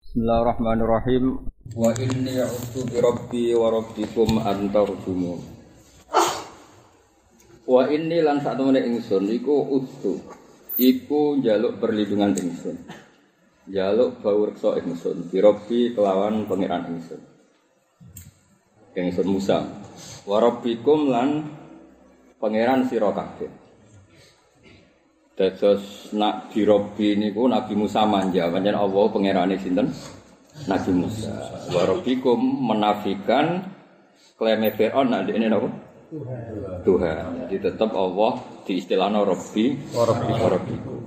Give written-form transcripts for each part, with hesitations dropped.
Bismillahirrahmanirrahim. Wa inni a'udzu birabbi wa rabbikum an tarjumun. Wa inni lan satemene ingsun iku udzu. Iku njaluk perlindungan ingsun. Njaluk bawreksa ingsun birabbi kelawan pangeran ingsun. Ingsun Musa. Wa rabbikum lan pangeran sira kabeh. Dados nak dirobi niku Nabi Musa manja, pancen Allah pangerane sinten? Nabi Musa. Wa rabbikum menafikan klaim Firaun nak dekne napa? Tuhan. Jadi tetap Allah diistilahno Rabbi wa rabbikum.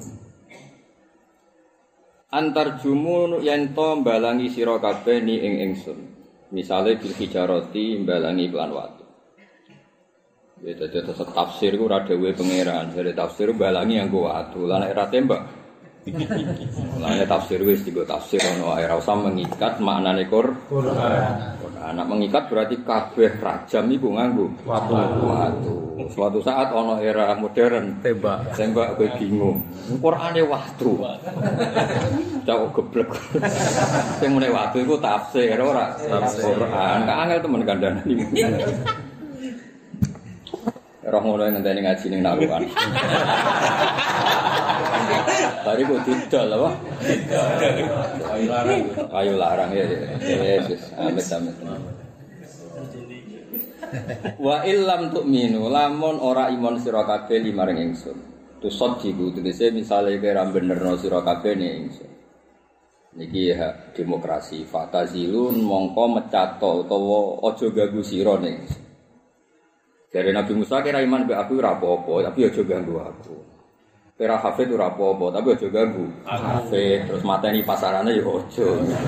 Antar jumun yen to mbalangi sira kabeh ni ing ingsun. Misale bil hijarati mbalangi iklan watu. Ya dadi tafsir ku ora dhewe pangeran, jare tafsir balangi nganggo watu. Lah nek ora tembak. Lah nek tafsir wis digo tafsir ono ae ora usah mengikat maknane Quran. Anak mengikat berarti kabeh rajam iku nganggo watu. Suatu saat ono era modern tembak kowe bingung. Qur'ane watu. Cak geblek. Sing mune watu iku tafsir ora Quran. Ka angel temen kandhane iki. Roh ngono ngenteni ngaji ning narukan. Bari kok didol apa? Ayo larang ya. Yesus, amit-amit. Wa illam tu'minu lamun ora iman sira kabeh limaring ingsun. Tusaddiqu tegese misale kira benerno sira kabeh ning ingsun. Niki hak demokrasi fatazilun mongko mecato utawa aja ganggu sira ning ingsun. Dari Nabi Musa kira iman be aku ora apa-apa, tapi aja ganggu aku. Kira hafid ora apa-apa, tapi aja ganggu. Hafid terus mateni pasarane ya aja.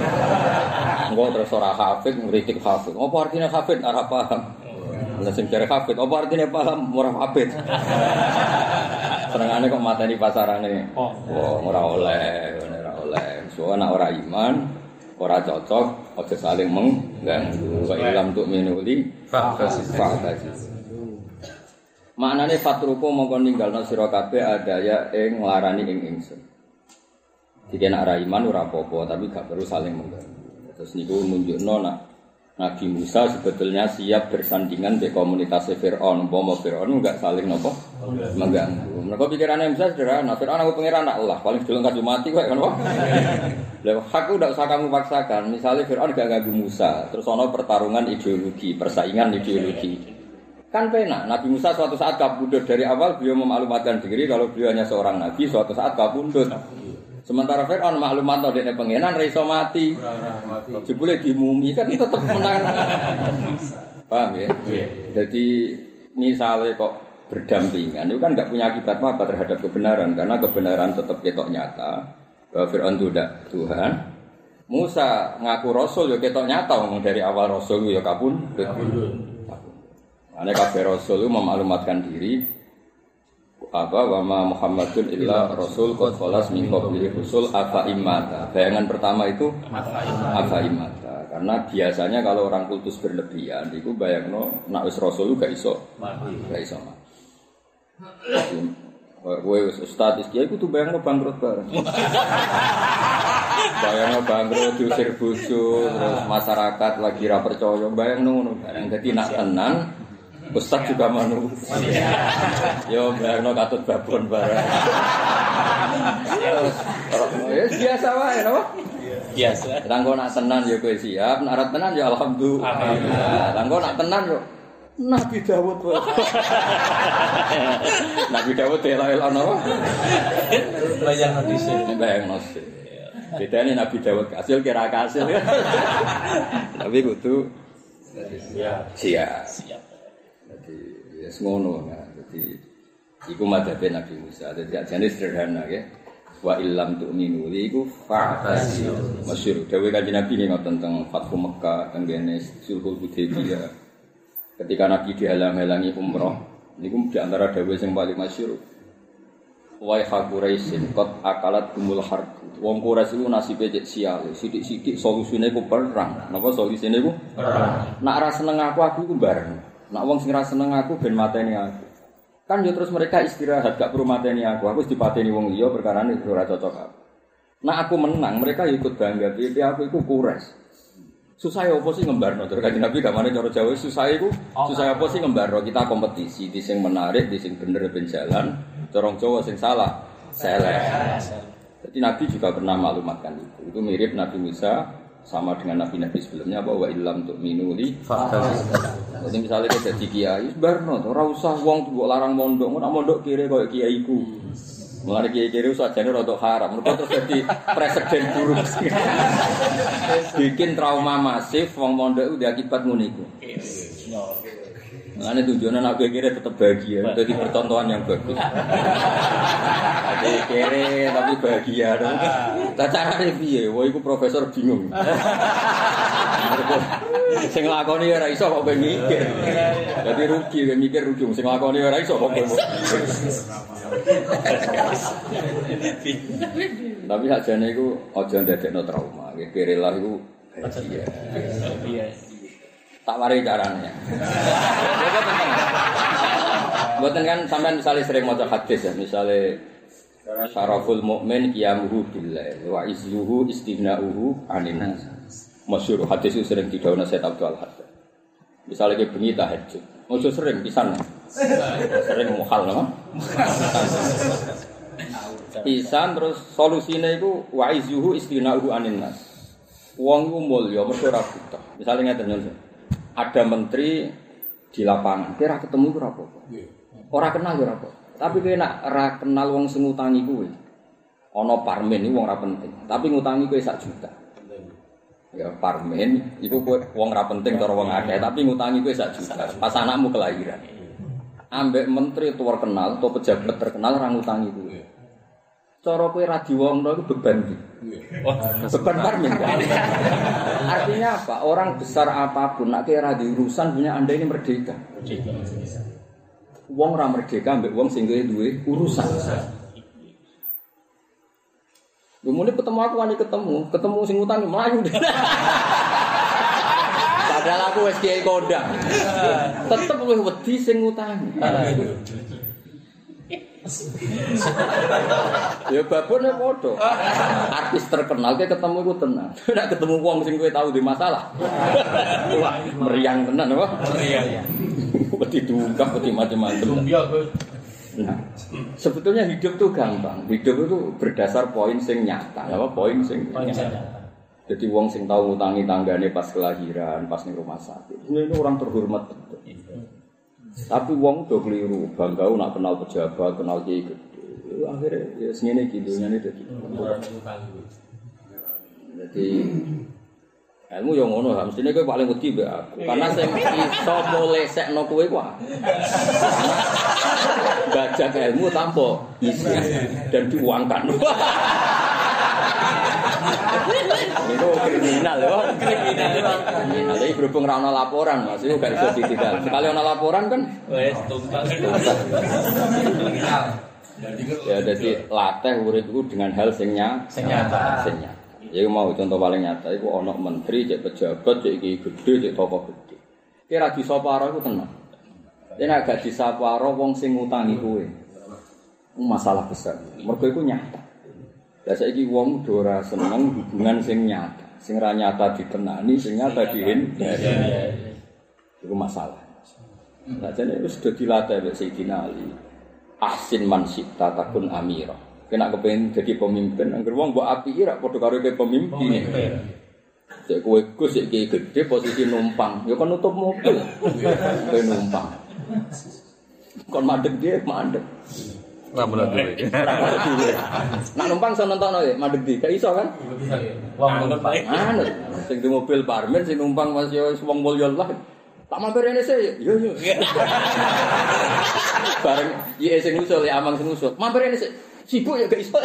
Engko terus ora hafid ngritik hafid. Apa artinya hafid ora paham. Lah sing jare hafid, apa artinya paham ora hafid. Senengane kok mateni pasarane. Oh, ora oleh. Soale nek ora iman, ora cocok, aja saling mengganggu. Wa ilam tu minuli fa'tasi. Maknane fatruku mongko ninggalno sira kabeh adaya ing nglarani ing ingsun. Dike nek ra iman ora apa-apa, tapi gak perlu saling mengganggu. Terus niku nunjukno nak Nabi Musa sebetulnya siap bersandingan di komunitas Firaun. Umpama Firaun enggak saling napa mengganggu. Mergo pikirane Musa sederhana, Firaun aku pangeran Allah, paling deleng kasih mati kok kan apa? Lah aku ndak usah kamu paksakan. Misalnya Firaun gak ganggu Musa, terus ana pertarungan ideologi, persaingan ideologi. Kan penak, Nabi Musa suatu saat kabudut dari awal beliau memaklumatkan diri kalau beliau hanya seorang nabi, suatu saat kabudut. Sementara Fir'aun maklumat no dene pengenan iso mati. Jebule dimumi kan tetep menang. Paham ya? Jadi misalnya kok berdampingan itu kan enggak punya akibat apa terhadap kebenaran karena kebenaran tetap ketok nyata bahwa Fir'aun itu tidak Tuhan. Musa ngaku rasul ya ketok nyata ngomong dari awal rasul ya kabudut. Ane kabeh rasul itu memaklumatkan diri wa ma Muhammadun illa rasul qad khalas min qablihi rusul afa imata. Bayangan pertama itu afa imata. Karena biasanya kalau orang kultus berlebihan itu bayangno nek wis rasul gak iso mati. Kowe wis ustaz iki kudu bayangno bangkrut bareng. Bayangno bangkrut diusir bojo terus masyarakat lagi ra percaya bayangno ngono bareng. Dadi nak tenan Ustaz juga manusia. Yo bayangno katut babon bareng. Ya biasa wae napa? Biasa. Tanggo nak tenan yo kowe siap, nak ora tenan yo alhamdulillah. Tanggo nak tenan yo Nabi Dawud wae. Nabi Dawud ela-ela napa? Bayangno dhisik. Bayangno dhisik. Bedane Nabi Dawud kasil kira kasil. Tapi kudu siap. Jadi ya semono ya. Jadi iku madhabe Nabi Musa. Jadi ajane sederhana ya. Wa illam tu'minu iku fa'tasi. Masyhur dawuh Kanjeng Nabi ning tentang Fathu Mekkah tenggene Sulhul Hudaybiyah. Ketika Nabi dihalang-halangi umrah, niku di antara dawuh sing paling masyhur. Wa Quraisyin qad akalat umul harb. Wong Quraisy iku nasibe cek sial. Sithik-sithik solusine ku perang. Napa solusine ku? Perang. Nek ora seneng aku iku bareng. Nak wong sing ra seneng aku ben mateni aku. Kan yo terus mereka istirahat gak perlu mateni aku wis dipateni wong liya perkarane ora cocok aku. Nah aku menang, mereka ikut bangga. Piye aku iku kures. Susah apa sih ngembarno? Terus Kanjeng Nabi gamane cara Jawa susah iku, susah apa sih ngembarno? Kita kompetisi di sing menarik, di sing bener ben jalan, corong Jawa sing salah, selek. Jadi Nabi juga pernah maklumatkan itu. Itu mirip Nabi Musa sama dengan nabi-nabi sebelumnya bahwa ilham untuk minuli. Jadi misalnya kita jadi kiai, barno, ora usah wong mbok larang mondok, ora mondok kire koyo kiaiku. Mulane kiai-kiai sajane rada haram. Mergo terus dadi presiden buruk. Bikin trauma masif wong mondok udah akibat ngono iku. Mulane tujuane anak kiai tetap bahagia, dadi percontohan yang bagus. Jadi kere tapi bahagia. Lah carane piye? Wah iku profesor bingung. Sing lakoni ora iso kok ben mikir. Dadi rugi ben mikir rugi sing lakoni ora iso kok ben. Tapi sakjane iku aja ndadekno trauma. Kere lah iku bahagia. Iya. Tak mari caranya. Mboten kan sampean misalnya sering maca hadis ya, misalnya syaraful mukmin qiyamuhu billah wa izzuhu istighna'uhu 'anil nas. Masyhur hadis itu sering didhawuhna Sayyid Abdul Haddad. Misalnya ke bengi tahajud. Ojo sering pisan. Sering mukhal apa? Pisan terus solusine iku wa izzuhu istighna'uhu 'anil nas. Wong ku mulya mergo ora butuh. Misale ngeten yo. Ada menteri di lapangan, kira ketemu itu apa-apa. Orang kenal itu apa. Tapi kena ora kenal wong sing ngutangi kuwi. Ana parmen iki wong ora penting, tapi ngutangi kuwi 1 juta. Ya parmen iku wong ora penting cara wong akeh, tapi ngutangi kuwi 1 juta. Pas anakmu kelahiran. Ambek menteri tuwar kenal atau pejabat terkenal ora ngutangi kuwi. Cara kowe ra diwongno iku beban iki. Beban parmen. Artinya apa? Orang besar apapun nek kira di urusan punya Anda ini merdeka. Wong ora merdeka ambek wong sing duwe urusan. Lumune ketemu aku wani ketemu sing utangi mlayu. Padahal aku wis kiai kondang. Tetep luwih wedi sing utangi. Ya babone padha. Artis terkenal ke ketemu iku tenang. Nek ketemu wong sing kowe tau di masalah. Wah, meriang tenan apa? Meriang. Wedi diungkap, wedi macam-macam. Nah, sebetulnya hidup tuh gampang. Hidup itu berdasar poin sing nyata. Apa poin sing nyata. Jadi wong sing tau ngutangi tanggane pas kelahiran, pas ning rumah sakit. Ini orang terhormat betul. Tapi wong do keliru, bangga nak kenal pejabat, kenal kiai gede. Akhirnya ya sengene iki dunyane dadi. Jadi ilmu yo ngono, mestine kowe paling wedi mbek aku. Karena sing iso molesekno kowe ku aku. Bajak ilmu tanpa isi dan diuangkan. Itu kriminal ya. Kriminal. Jadi berhubung ra ono laporan, Mas, itu gak iso ditinggal. Sekali ono laporan kan wis tuntas. Ya jadi latih urip iku dengan hal sing nyata. Ya mau contoh paling nyata iku ono menteri, cek pejabat, cek iki gede, cek tokoh gede. Kira disaparo iku tenang. Yen agak disaparo wong sing ngutangi kowe. Masalah besar. Mergo iku nyata. Lah saiki wong ora seneng hubungan sing nyata. Sing ra nyata ditenani, sing nyata dihindari. Iku masalah. Lah jane wis do dilatih wek Sayyidina Ali. Ahsin man syi'ta takun amira. Kena kepengin dadi pemimpin, anggere wong mbok apiki ra padha karo ke pemimpin. Cek kowe Gus iki gede posisi numpang, ya kon nutup mobil. Kowe numpang. Kon mandeg dia mandeg. Rambulan dhewe. Nak numpang iso nontono ya, mandeg di. Gak iso kan? Wong numpang. Anut. Sing di mobil parmen sing numpang Mas yo wong mulya lah. Tak mampir rene sik. Yo. Bareng iki sing usul ya amang sing usul. Mampir rene sik. Sibuk ya gak iso.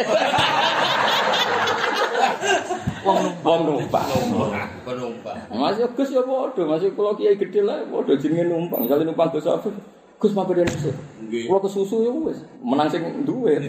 Wong numpang. Mas yo Gus yo padha, Mas kula kiai gedhe lah padha jenenge numpang. Misale numpang Gus Afif. Gus mampir rene sik. Kula kesusu ya wis menang sing duwe.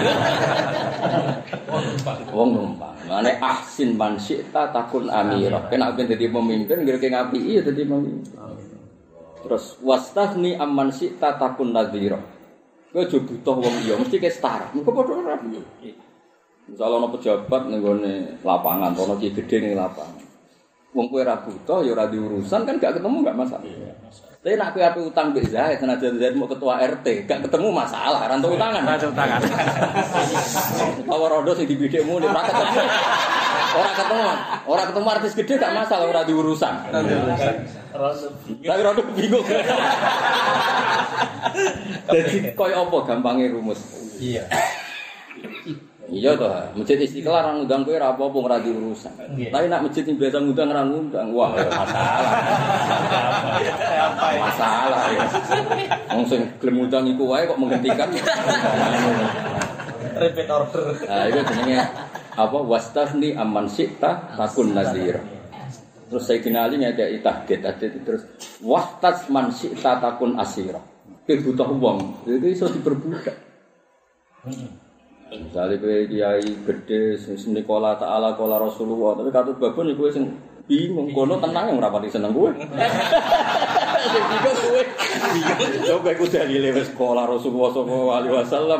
Wong numpang. Mane ahsin man syi'ta takun amira. Kena ben dadi pemimpin ngreke ngapiki ya dadi pemimpin. Terus wastahni amman syi'ta takun nadhira. Kowe aja butuh wong liya, mesti ke setara. Engko padha ora. Misale ana pejabat ning gone lapangan, ana ki gedhe ning lapangan. Wong kowe ra butuh ya ora diurusan kan gak ketemu gak masalah. Tapi nak kowe ape utang mbek Zaid, senajan Zaid mau ketua RT, gak ketemu masalah, ra entuk utangan. Ra utangan. Utawa rondo sing dibidikmu ora ketemu. Ora ketemu artis gede gak masalah, ora diurusan. Tapi rondo bingung. Jadi koyo apa gampangnya rumus? Iya. Iya toh, masjid Istiqlal ra ngundang kowe ra apa-apa ora diurusan. Tapi nak masjid sing biasa ngundang ra ngundang, wah masalah. Masalah ya. Wong sing gelem ngundang iku wae kok menghentikan. Repeat order. Nah, itu jenenge apa wastafni amman syi'ta takun nazira. Terus Sayyidina Ali ngedeki tahqiq terus wahtas man syi'ta takun asira. Kowe butuh wong, itu iso diperbudak. Misalnya kowe kiai gede sing Nikola Ta'ala Kola Rasulullah, tapi katut babon iku sing bingung kono tenang yang rapati seneng kowe. Sing bingung kowe. Coba iku dalile wis Kola Rasulullah sallallahu alaihi wasallam.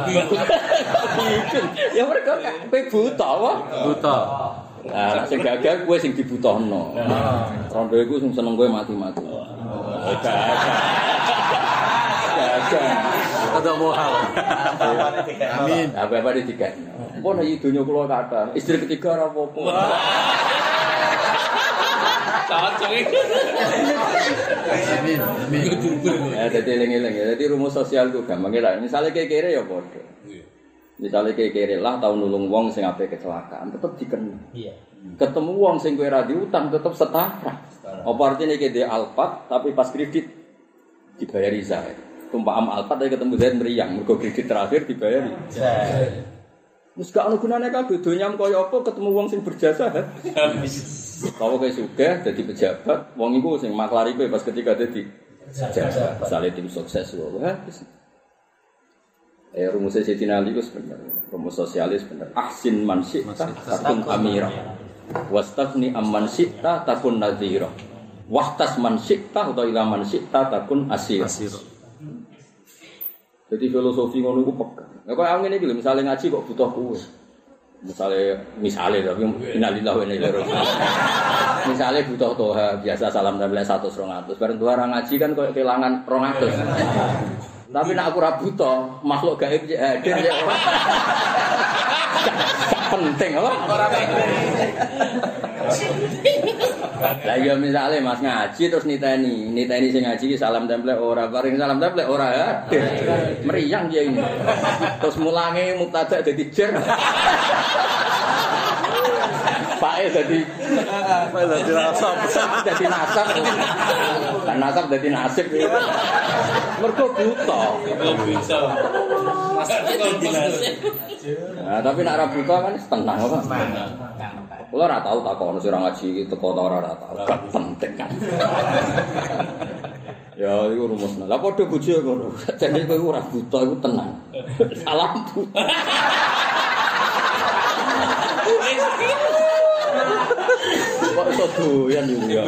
Ya mereka kowe buta apa? Buta. Nah, sing gagal kowe sing dibutuhno. Rondo iku sing seneng kowe mati-mati. Ada mohal. Amin. Apa-apa di tiga. Pun ayi dunya kula kathah. Istri ketiga ora apa-apa. Cocok iki. Amin. Amin. Ya dadi eling-eling ya. Dadi rumus sosial ku gampang ya. Misale kere ya padha. Misale kere lah tau nulung wong sing ape kecelakaan tetep dikenal. Iya. Ketemu wong sing kowe ra diutang tetep setara. Apa artine iki dhe Alphard tapi pas kredit dibayari Zaid. Tumpah am Alphard dari ketemu Zaid meriang, mergo kredit terakhir dibayari. Wis gak ono gunane kabeh donya kaya apa ketemu wong sing berjasa. Kalau kowe sugih dadi pejabat, wong iku sing maklari kowe pas ketika dadi pejabat. Misale tim sukses wae. Rumus Sayyidina Ali itu sebenarnya rumus sosialis benar. Ahsin man syi'ta takun amira. Wastafni amman syi'ta takun nadhira. Wahtas man syi'ta atau ila man syi'ta takun asir. Jadi filosofi ngono iku pegang. Lah kok ngene iki lho, misale ngaji kok butuh kowe. Misale tapi innalillahi wa inna ilaihi raji'un. Misale butuh toha biasa salam tempel 100 200. Bareng tuwa ngaji kan koyo kelangan 200. Tapi nek aku ora butuh, makhluk gaib hadir ya. Gak penting apa? Ora penting. Lah ya misale Mas ngaji terus niteni sing ngaji salam template ora bareng salam template ora hadir. Meriang dia ini. Terus mulange mubtada dadi jer. Pae dadi nasab. Dadi nasab. Kan nasab dadi nasib. Mergo buta. Nah, tapi nek ora buta kan tenang apa? Kula ora tau takon sira ngaji iki teko ta ora tau. Gak penting kan. Ya iku rumusna. Lah padha bojo ngono. Jane kowe ora buta iku tenang. Salam buta. Kok iso doyan ya.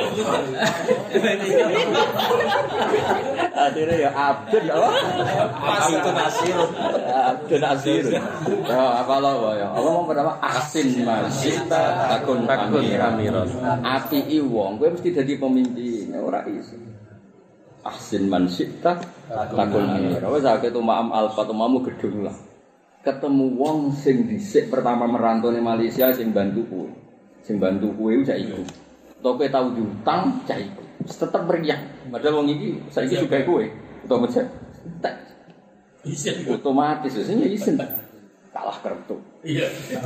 Akhirnya ya abdun apa? Abdun asir. Ya apalah ya. Allah mau pertama asin masita takun amiron. Api wong kowe mesti dadi pemimpin, ora iso. Asin mansita takun amiron. Wis akeh to maam alfa to mamu gedung lah. Ketemu wong sing dhisik pertama merantau ning Malaysia sing bantu kowe. Sing bantu kowe cak iku. Toke tau diutang cak iku. Tetep meriah. Padahal wong iki saiki juga kowe. Utawa mecet. Tak. Isin otomatis sing isin. Kalah kertu. Iya.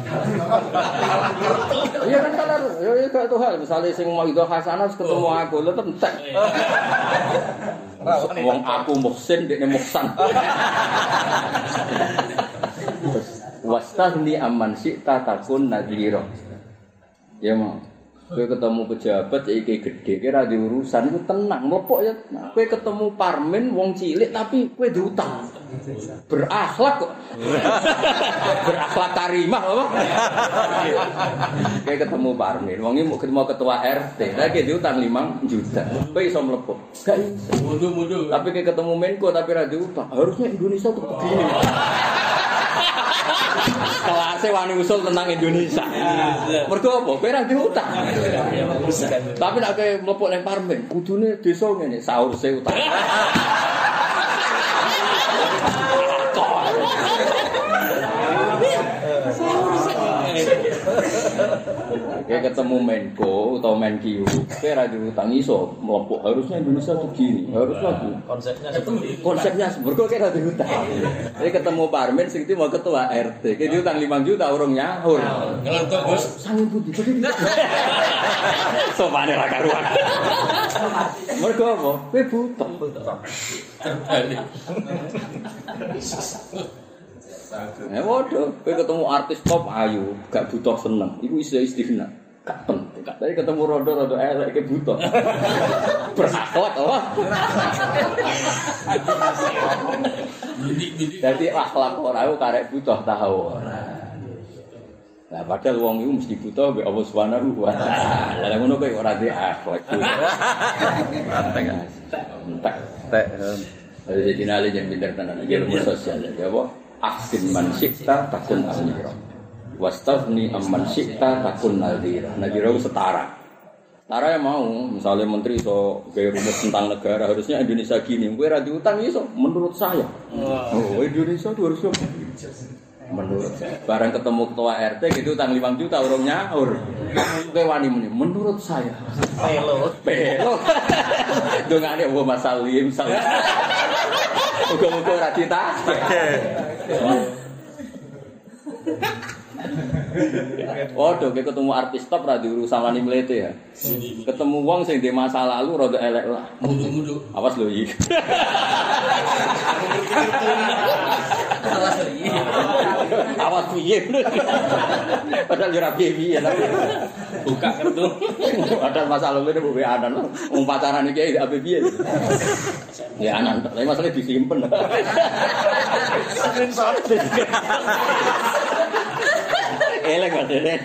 Iya kan kalah. Ya gak tuh hal misale sing mau itu hasanah ketemu aku tetep entek. Wong aku muhsin dekne muhsan. Wastahni amman syi'ta takun nadhira. Ya mau. Kowe ketemu pejabat iki gedhe kira di urusan iku tenang mlepok ya. Kowe ketemu parmen wong cilik tapi kowe diutang. Berakhlak kok. Berakhlak karimah apa? Kowe ketemu parmen wong iki mau ketua RT, lagi diutang 5 juta. Kowe iso mlepok. Gak iso. Mundur. Tapi kowe ketemu Menko tapi ra diutang. Harusnya Indonesia tuh begini. Kelas Tasih wani usul tentang Indonesia. Mergo apa? Kowe ra diutang. Tapi nek kowe mlepuk ning parmen, kudune desa ngene, saurse utang. Kayak ketemu Menko atau Menkyu, kayak radio utang iso melopok. Harusnya Indonesia begini, harusnya konsepnya seberko kayak radio utang. Jadi ketemu Parmen, sing itu mau ketua RT, kayak utang 5 juta orang nyaur. Ngelantuk Gus. Sangin putih, sopannya lah karuan. Mereka apa? Kue butuh. Waduh, kowe ketemu artis top ayu, gak butuh seneng. Iku istighna. Gak penting. Tadi ketemu rondo-rondo elek ke butuh. Berakhlak apa? Jadi akhlak ora iku karek butuh tahu ora. Lah padahal wong iku mesti butuh mbek Allah Subhanahu wa taala. Lah ngono kowe ora di akhlak. Entek. Entek. Jadi dinali yang pinter tenan ilmu sosial ya apa? Ahsin man syi'ta takun amira wastafni amman syi'ta takun nadhira. Nadhira itu setara. Setara yang mau, misalnya menteri so gaya rumus tentang negara, harusnya Indonesia gini, gue ra diutang iso menurut saya. Oh, Indonesia itu harusnya menurut saya. Barang ketemu ketua RT gitu utang 5 juta orang nyaur. Kowe wani muni menurut saya. Pelo. Dongane wa masalim salim. Muga-muga ora ditake. Waduh, kayak ketemu artis top ra diurusan wani mlete ya. Ketemu wong sing ndek masa lalu rada elek lah. Mundur-mundur. Awas lho iki. Awas piye. Padahal yo ra piye-piye lah. Buka kartu. Padahal masa lalu ini mbok anan. Wong pacaran iki ape piye. Ya anan, tapi masalah disimpen. Screenshot. Elek padahal.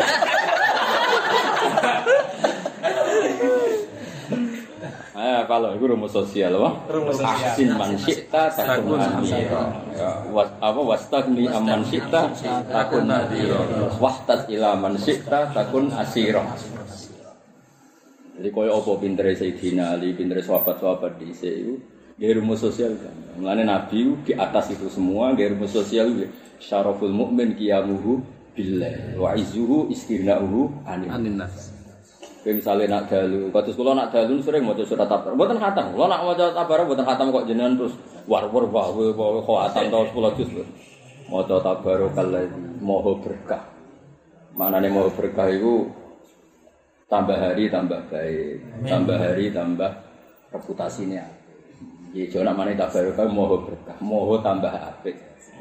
Kalau itu rumus sosial, ahsin man syi'ta takun amira. Wastagni amman syi'ta takun nadhira. Wahtas ila man syi'ta takun asira. Jadi kaya apa pintere Sayyidina Ali, pintere sahabat-sahabat dhisik iku nggih rumus sosial kan. Mulane Nabi di atas itu semua nggih rumus sosial syaraful mukmin qiyamuhu billah wa izzuhu istirna'uhu anin nas. Kayak misalnya nak dalu, kados kula nak dalu sering maca surat Tabar. Mboten khatam. Kula nak maca Tabar mboten khatam kok jenengan terus war-war wae khatam ta 10 juz. Maca Tabarokalladzi maha berkah. Maknane maha berkah iku tambah hari tambah baik, tambah hari tambah reputasine. Ya jane maknane Tabarokal maha berkah, maha tambah apik.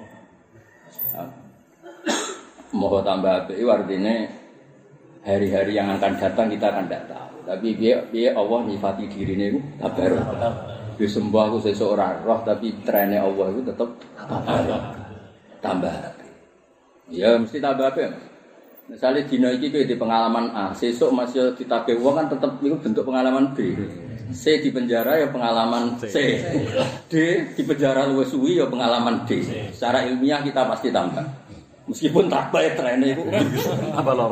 Maha tambah apik artine hari-hari yang akan datang kita akan tidak tahu. Tapi biar Allah nyifati dirinya itu tabarok. Disembah aku seseorang roh, tapi trennya Allah itu tetap tabarok. Tambah. Ya mesti tambah apa? Misalnya dina iki kowe di pengalaman A, sesuk masih ditagih wong kan tetap itu bentuk pengalaman B. C di penjara ya pengalaman C. D di penjara luwih suwi ya pengalaman D. Secara ilmiah kita pasti tambah. Meskipun tak baik trennya itu apa lor?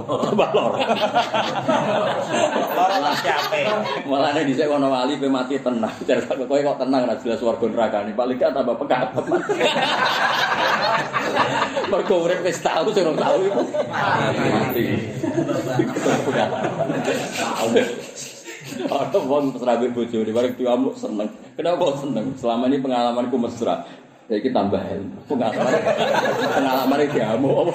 Malah nih disek kono wali pe mati tenang. Jar kowe kok tenang ra jelas warga nerakane. Paling gak tambah pekat. Mergo urip wis tau sing ora tau iku mati. Ada wong serabe bojone bareng diamuk seneng. Kenapa seneng? Selama ini pengalamanku mesra. Ya kita tambah pengalaman iki diamuk.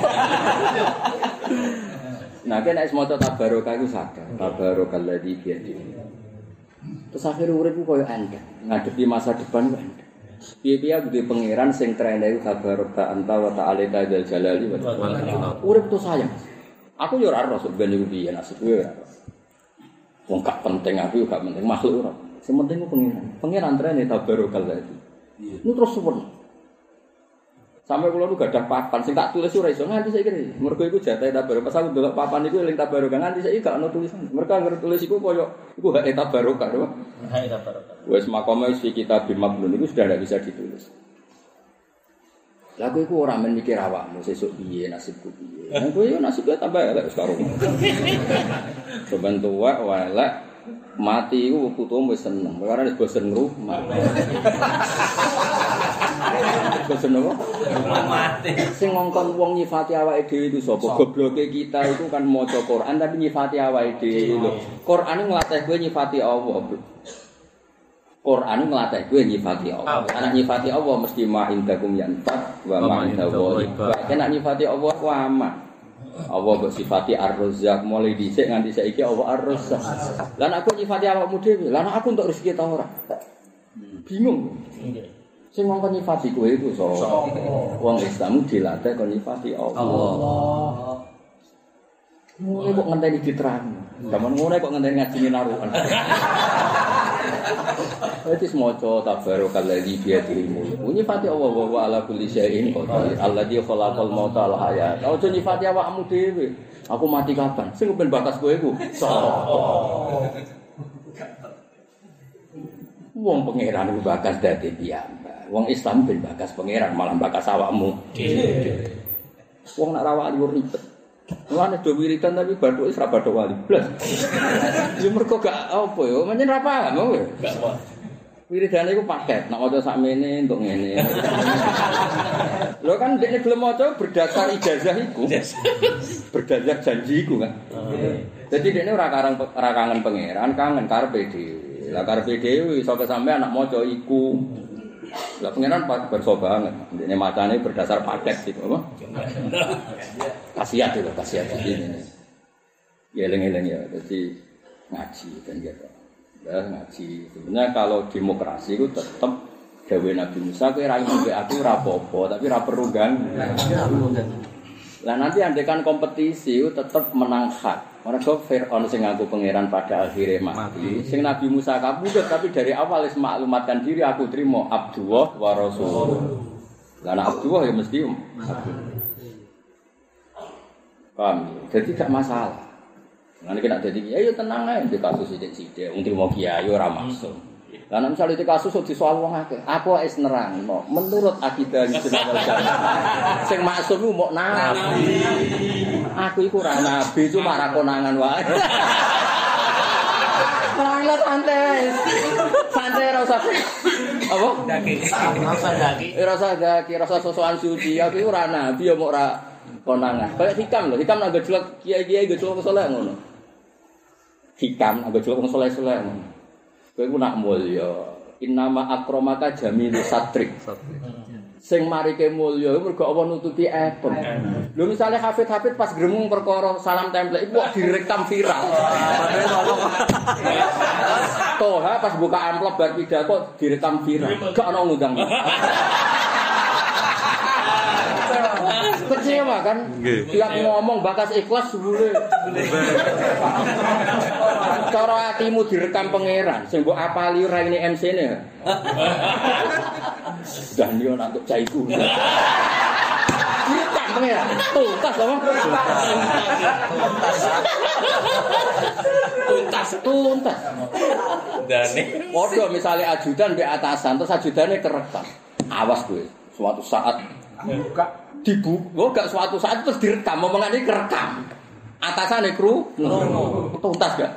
Nah, kena semoga tabarokah itu sadar. Tabarokalladzi biyadihi. Terus akhirnya uripku koyo enteng, ngadepi masa depan kok enteng. Piye-piye kudu pangeran sing trene iku tabaraka anta wa ta'ala dzal jalali wa ta'ala. Urip to sayang. Aku yo ora ero sok ben iku piye nasib kowe ora. Wong gak penting aku gak penting makhluk ora. Sing penting ku pangeran. Pangeran trene tabarokalladzi. Nu terus suwun. Sampai kula nu gadah papan sing tak tulis ora iso nganti saiki. Mergo iku jatahe tabarok. Pas aku ndelok papan iku eling tabarok nganti saiki gak ono tulisan. Mergo anggere tulis iku koyo iku hak tabarok lho. Hak tabarok. Wis makome isi kitab Maknun iku sudah tidak bisa ditulis. Lah kowe iku ora men mikir awakmu sesuk piye nasibku piye. Lah kowe yo nasibnya tambah elek wis karo. Sampeyan tuwek elek mati iku putumu wis seneng. Perkara wis bosen rumah. Bosen apa? Mati. Sing ngongkon wong nyifati awake dhewe iku sapa? Gobloke kita iku kan maca Quran tapi nyifati awake dhewe lho. Quran nglatih kowe nyifati Allah. Quran ngelatih gue nyifati Allah. Anak nyifati Allah mesti ma'indakum yanfad wa ma'indallahi. Kena nyifati Allah ku aman. Allah mbok sifati Ar-Razzaq mulai dhisik nganti saiki Allah Ar-Razzaq. Lah aku nyifati awakmu dhewe, lah aku entuk rezeki ta ora? Bingung. Sing ngongkon nyifati kowe iku sapa? Wong Islam dilatih kon nyifati Allah. Mulai kok ngenteni diterang. Zaman ngono kok ngenteni ngajine naruhan. Wis maca tabarakalladzi bi yadihil mulk. Nyifati Allah wa ala kulli syai'in qadir. Alladzi khalaqal mauta wal hayat. Ojo nyifati awakmu dhewe. Aku mati kapan? Sing ben bakas kowe iku. Wong pangeran iku bakas dadi piyambak. Wong Islam ben bakas pangeran malah bakas awakmu dhewe. Wong nak rawak liur ribet. Mulane do wiridan tapi bathuk wis ra bathuk wali blas. Ya mergo gak apa ya, menyen ra paham kowe. Gak apa. Wiridane iku paket, nek maca sakmene entuk ngene. Lho kan dekne gelem maca berdasar ijazah iku. Berdasar janji iku kan. Dadi dekne ora kangen pangeran, kangen karepe dhewe. Lah karepe dhewe iso sampe anak maca iku. Lah pangeran berso banget. Dekne macane berdasar paket gitu apa? Kasiat itu, kasiat ini. Ya eling-eling ya, jadi ngaji kan gitu. Ya ngaji. Sebenarnya kalau demokrasi itu tetap gawe Nabi Musa kowe ra ngombe aku ora apa-apa, tapi ora perlu ganggu. Lah nanti andekan kompetisi itu tetap menang hak. Mergo Firaun sing ngaku pangeran pada akhirnya mati. Sing Nabi Musa kabudut tapi dari awal wis maklumatkan diri aku terima Abdullah wa Rasulullah. Lah nek Abdullah ya mesti paham. Jadi gak masalah. Nanti kena jadi kiai, ya tenang aja di kasus sidik-sidik. Untuk mau kiai ora maksud. Karena misalnya di kasus di soal wong akeh, aku wis nerang. Menurut akidah Ahlussunnah wal Jamaah, sing maksud ku mok nabi. Aku iku ora nabi, cuma ra konangan wae. Malah santai. Santai ora usah. Apa? Daki. Ora usah daki, ora usah sosokan suci. Aku iku ora nabi, ya mok ora konangan. Kayak hikam lho, hikam nang gejlek kiai-kiai gejlek saleh ngono. Hikam nang gejlek saleh-saleh ngono. Kowe ku nak mulya. Innama akramaka jamilu satrik. Sing marike mulya mergo apa nutupi epem. Lho misale hafid-hafid pas gremung perkara salam template iku kok direkam viral. Toha pas buka amplop bar pidato direkam viral. Gak ono ngundang. Kecewa kan? Tiap ngomong bakas ikhlas sebule. Cara atimu direkam pangeran, sing mbok apali ora ini MC-ne. Sudah niyo nak untuk caiku. Direkam pangeran. Tuntas apa? Tuntas. Dane. Padha misale ajudan mbek atasan, terus ajudane kerekam. Awas kowe, suatu saat dibuka, gak suatu saat terus direkam, omongan ini kerekam. Atasannya kru, tuntas gak?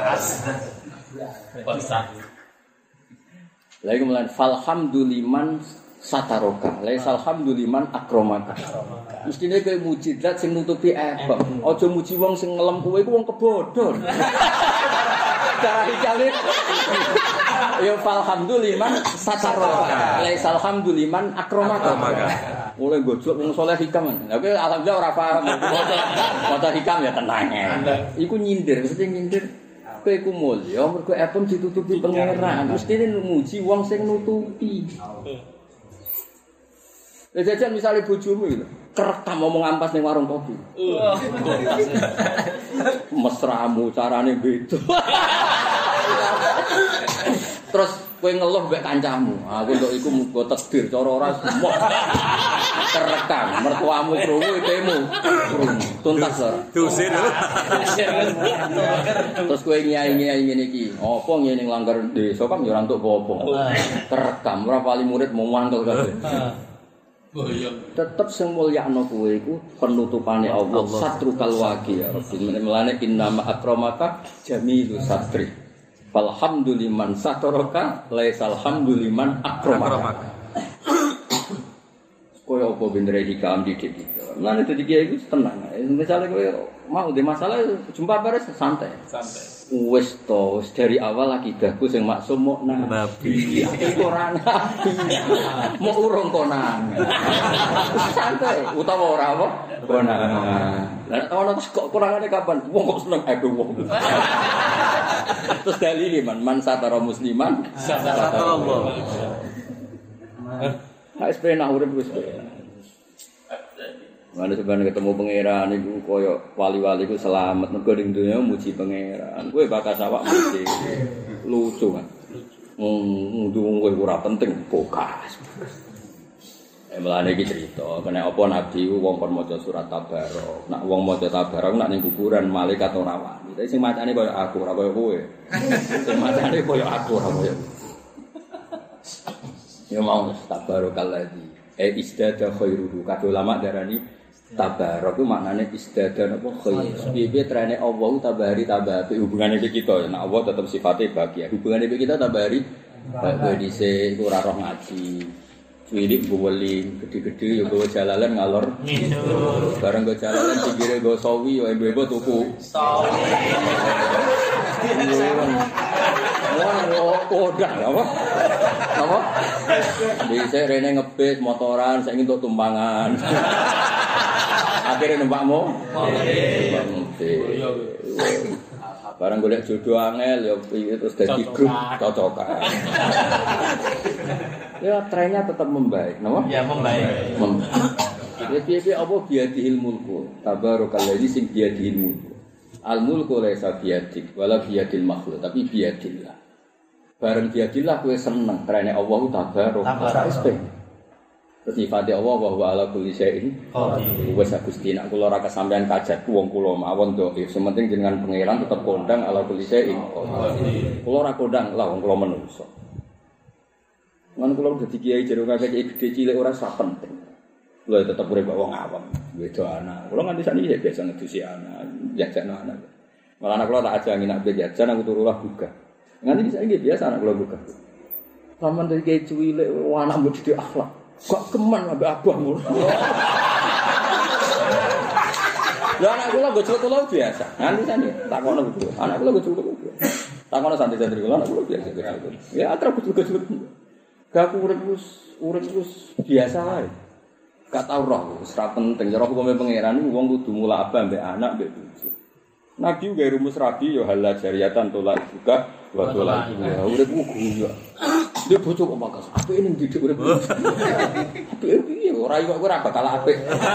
Tuntas. Lagi kemudian, falhamduliman sataroka, laisal hamduliman akromaka. Mestinya kayak mujizat sing nutupi ebang. Ojo muji wong sing ngelem kowe iku wong kebodhon. Cara dicalik. Ya falhamduliman sataroka, laisal hamduliman akromaka. Mulai gojlok wong saleh hikam. Lah kowe alhamdulillah ora paham. Maca hikam ya tenang ya. Iku nyindir, mesti nyindir. Kowe iku mulya mergo epem ditutupi pangeran. Mesti muji wong sing nutupi. Lah jajan misale bojomu iki kerekam ngomong ampas ning warung kopi. Mesramu carane beda. Terus kowe ngeluh mbek kancamu. Aku nduk iku muga takdir cara ora semua. Kerekam mertuamu krungu itemu. Tuntas ora? Dosen. Terus kowe nyai-nyai ngene iki. Apa ngene nglanggar desa kan ya ora entuk apa-apa. Kerekam ora pali murid mau mangkel kabeh. Tetep sing mulyakno kowe iku penutupane Allah satrukal waqi ya Rabbi melane innama akramaka jamilu satri falhamduliman sataraka laisal hamduliman akramaka koyo apa bener iki kam didik melane dadi kiai iku tenang misale kowe mau di masalah jumpa beres santai wis to dari awal akidahku sing maksum mok nabi ora nabi mok urung konan santai utawa ora apa konan lah ono kok kurangane kapan wong kok seneng ado wong terus dalile man satara musliman satara Allah ha sepena urip wis mana sebenarnya ketemu pangeran iku koyo wali-wali ku selamat mergo ning donya muji pangeran. Kowe bakas awak muji. Lucu kan. Wong kowe ora penting bokas. Melane iki crita, kena apa nabi wong kon maca surat Tabarok. Nak wong maca Tabarok nak ning kuburan malaikat ora wani. Tapi sing macane koyo aku ora koyo kowe. Sing macane koyo aku ora koyo. Ya mau Tabarokalladzi. Istada khairuhu. Kadhe ulama darani tabarok itu maknanya istiadah apa khair. Piye trene Allah tabari tabati hubungane iki kita. Nek Allah tetep sifatnya bahagia. Hubungane iki kita tabari bahagia dhisik ora roh ngaji. Cilik guweling, gede-gede ya gawa jalalan ngalor. Bareng go jalalan pinggire go sawi ya ibu-ibu tuku. Sawi. Udah apa? Apa? Bisa rene ngebis motoran saya untuk tumpangan. Akhirnya numpakmu? Barang golek jodoh angel ya terus dadi grup cocokan. Ya trennya tetap membaik, napa? Ya membaik. Ya piye apa biadihil mulku. Tabarakalladzi sing biadihil mulku. Al mulku laisa biadik wala biadil makhluk, tapi biadillah. Bareng biadillah kowe seneng karena Allah tabaraka. Sifatnya Allah bahwa ala kulli syai'in qadir. Wes Gusti nek kula ora kesampean kajat wong kula mawon dhaif. Sementing jenengan pangeran tetep kondang ala kulli syai'in qadir. Kula ora kondang lah wong kula menungso. Ngan kula dadi kiai jero kakek gede cilik ora sak penting. Kula tetep urip wong awam, wedo anak. Kula nganti sakniki biasa ngedusi anak, jajan anak. Malah anak kula tak ajangi nak jajan aku turu lah buka. Nganti saiki biasa anak kula buka. Saman dari kiai cilik anak mbok didik akhlak. Kok keman ambek abahmu. Lah anak kula gojol kula biasa. Nanti sane takono gojol. Anak kula gojol kula. Takono santai-santai kula anak kula biasa gojol. Ya atrap gojol-gojol. Gak urip wis biasa wae. Gak tau roh, wis ra penting. Cara hukume pangeran iku wong kudu mula abah ambek anak ambek bojo. Nabi gawe rumus rabi ya halal jariatan tolak juga wa tolak. Urip ku guyu. Dia bojo kok makas. Apike ning didik urip. Apike piye ora iso ora bakal apik.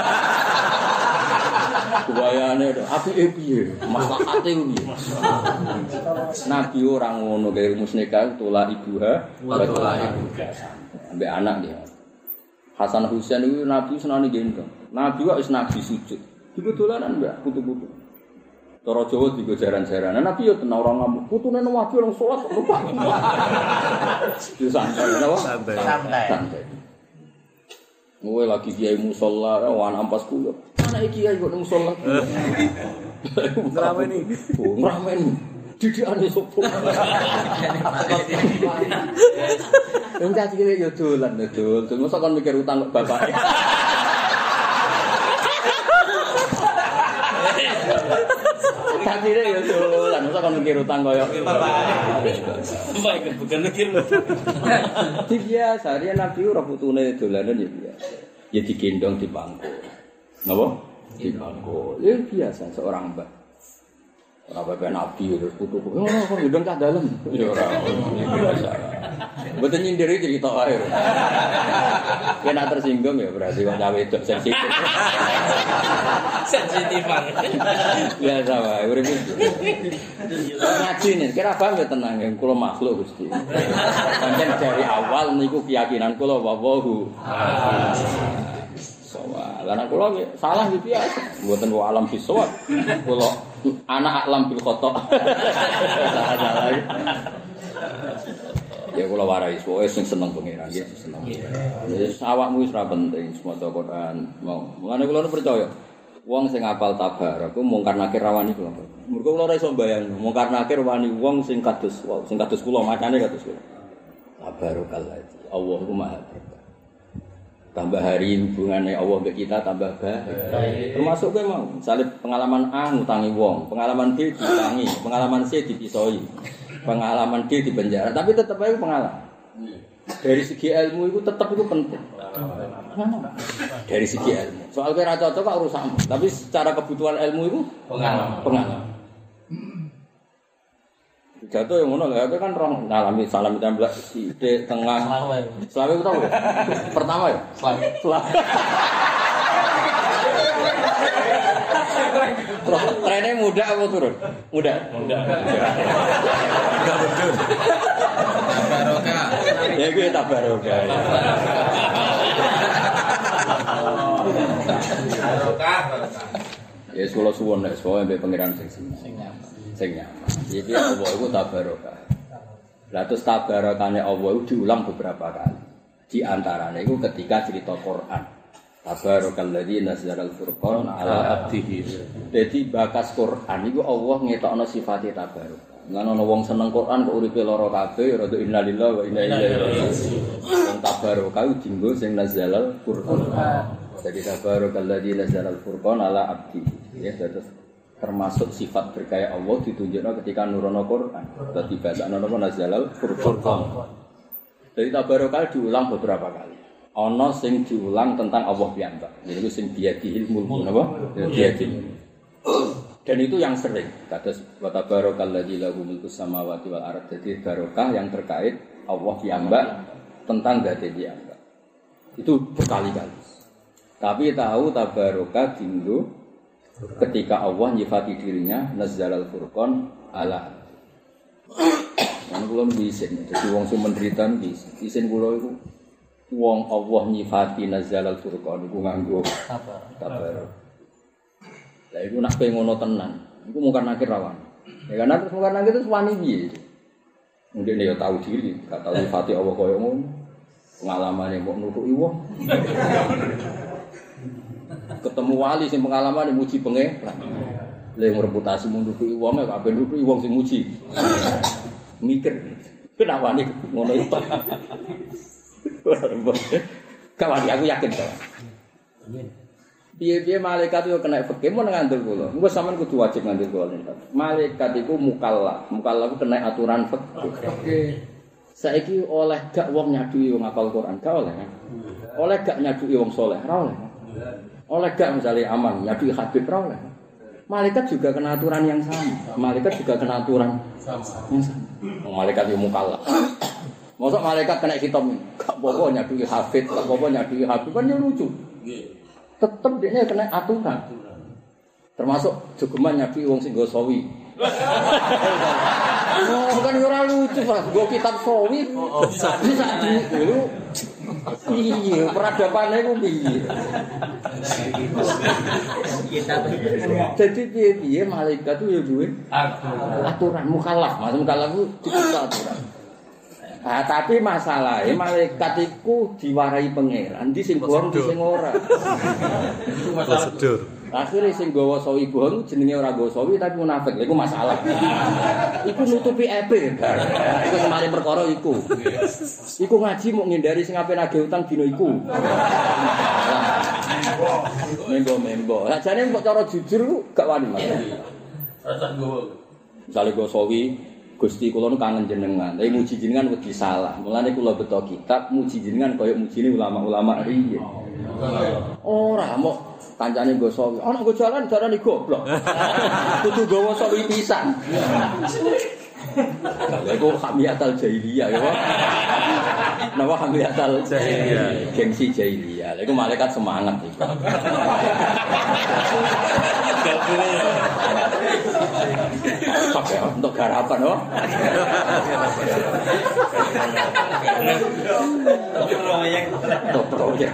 Kubayane apike piye? Maslahate piye? Nabi ora ngono gawe rumus nikah tolak ibuha wa tolak ibuha. Ambek anak dia. Hasan Husain itu Nabi senane gendong. Nabi kok wis nabi sujud. Iku dolanan mbak kutu-kutu. Cara Jawa digo jaran-jaranan. Nabi yo tenan ora ngamuk. Putune nang wae orang salat lupa. Yo santai, napa? Santai. Ngowe lagi kiai musala wan ampas kula. Anak iki kiai kok nang musala. Ngrameni. Ngrameni. Didikane sopo. Enggak iki yo dolan dol. Mosok kon mikir utang kok bapake. Tadire ya dolan, mosok kon mikir utang koyo bapak. Bukan mikir lho. Biasa, dia Nabi ora putune dolanan ya biasa. Ya digendong di bangku. Napa? Di bangku. Ya biasa seorang mbak. Ora bapak Nabi terus putu. Oh, kok gendong cah dalem. Ya ora. Biasa. Mboten nyindiri cerita wae. Nek tersinggung ya berarti wong cawe wedok sensitif. Sensitifan. Biasa wae urip iki. Ngaji nek kira paham ya tenang ya kula makhluk Gusti. Pancen dari awal niku keyakinan kula wallahu. Soal anak kula salah iki biasa. Mboten wa alam bisawab. Kula anak alam bil khata. Salah. Ya kula warai pokoke sing seneng pangeran nggih seneng. Wis awakmu wis ora penting maca Quran. Mulane kula percaya wong sing apal tabarak ku mungkar nakir rawani kula. Mergo kula ora iso mbayang mungkar nakir wani wong sing kados kula macane kados kula. Tabarokallah. Allah ku Maha Berkah. Tambah hari hubungannya Allah ke kita tambah baik. Termasuk kowe mau, misalnya pengalaman A ngutangi wong, pengalaman B diutangi, pengalaman C dipisoi, pengalaman D di penjara, tapi tetap aja pengalaman. Dari segi ilmu itu tetap itu penting. Dari segi ilmu. Soal kira cocok kok urusanmu, tapi secara kebutuhan ilmu itu pengalaman. Jatuh yang ngono lha kan roh ngalami salam tembak sithik tengah. Selawe ku tau. Pertama ya? Selawe. Trennya muda apa turun? Muda. Muda betul. Tabarokah. Ya gue tabarokah. Tabarokah. Ya kula suwun nek soalé pengiran sing nyaman. Jadi Allah itu tabarokah. Lah terus tabarokahne Allah itu diulang beberapa kali. Di antaranya itu ketika cerita Quran. Tabarakalladzi nazzalal furqan ala abdihi. Jadi bakas Quran itu Allah ngetokno sifate tabarokah. Lan ana wong seneng Quran kok uripe lara kabeh rada innalillahi wa inna ilaihi raji'un. Wong tabarokah dienggo sing nazzalal furqan. Jadi tabarakalladzi nazzalal furqan ala abdihi. Ya terus termasuk sifat berkaya Allah ditunjukkan ketika nurono Quran. Dadi bahasane napa nazalal furqan. Jadi tabarokah diulang beberapa kali. Ana sing diulang tentang Allah piyambak. Yaiku sing biadihil mulku napa? Biadih. Dan itu yang sering. Kados wa tabarakalladzi lahu mulku samawati wal ardh. Jadi barokah yang terkait Allah piyambak tentang zat piyambak. Itu berkali-kali. Tapi tahu tabarokah dinggo ketika Allah nyifati dirinya nazzalal furqan ala. Lan kula isin, dadi wong sing menderita isin kula iku wong Allah nyifati nazzalal furqan iku nganggo tabar. Lah iku nek ngono tenan, iku mungkar nakir rawan. Ya kan terus mungkar nakir terus wani piye? Mungkin dia tahu diri, gak tahu nyifati Allah koyo ngono. Pengalamane mbok nutuki wong. Ketemu wali sing pengalaman muji pengeran. Lha reputasi munduki wong kok ape nuduki wong sing muji. Mikir. Kenapa nih ngono itu? Kawan aku yakin to. Piye-piye malaikat yo kena fikih mun ngandel kula. Engko sampean kudu wajib ngandel kula. Malaikat iku mukallaf. Mukallaf kena aturan fikih. Saiki oleh gak wong nyaduki wong hafal Quran, gak oleh. Oleh gak nyaduki wong saleh, ora oleh. Oleh gak misalnya aman, nyadu Habib ra oleh. Malaikat juga kena aturan yang sama. Malaikat juga kena aturan yang sama. Malaikat yang mukallaf. Mosok malaikat kena hitam, gak apa-apa nyadu Habib, gak apa-apa nyadu Habib kan yo lucu. Tetep dia kena aturan. Termasuk jogeman nyadu wong sing nggo sawi. Oh, kan ora lucu, Pak. Nggo kitab sawi. Bisa dulu. Iya, peradapane ku piye? Jadi piye malaikat itu ya duwe aturan mukallaf. Maksud mukallaf itu dicipta aturan. Ah, tapi masalahnya malaikat itu diwarai pangeran, di sing bohong di sing ora. Itu prosedur. Akhirnya sing gawa sawi bohong jenenge ora gawa sawi tapi munafik. Lha iku masalah. Iku nutupi ebe. Iku semari perkara iku. Iku ngaji mau ngindari sing ape nagih utang dina iku. Membo. Sajane kok cara jujur gak wani, Mas. Rasa gawa. Misale gawa sawi Gusti kula nu kangen jenengan, tapi muji jenengan wedi salah. Mulane kula beto kitab muji jenengan kaya mujine ulama-ulama riyen. Ora mau kancane nggo sawi. Ana nggo jalan darani goblok. Kudu gawa sawi pisan. Lha iku hamiyatul jahiliyah ya. Napa hamiyatul jahiliyah? Gengsi jahiliyah. Lha iku malaikat semangat iku. Pakai untuk garapan, oh. Proyek.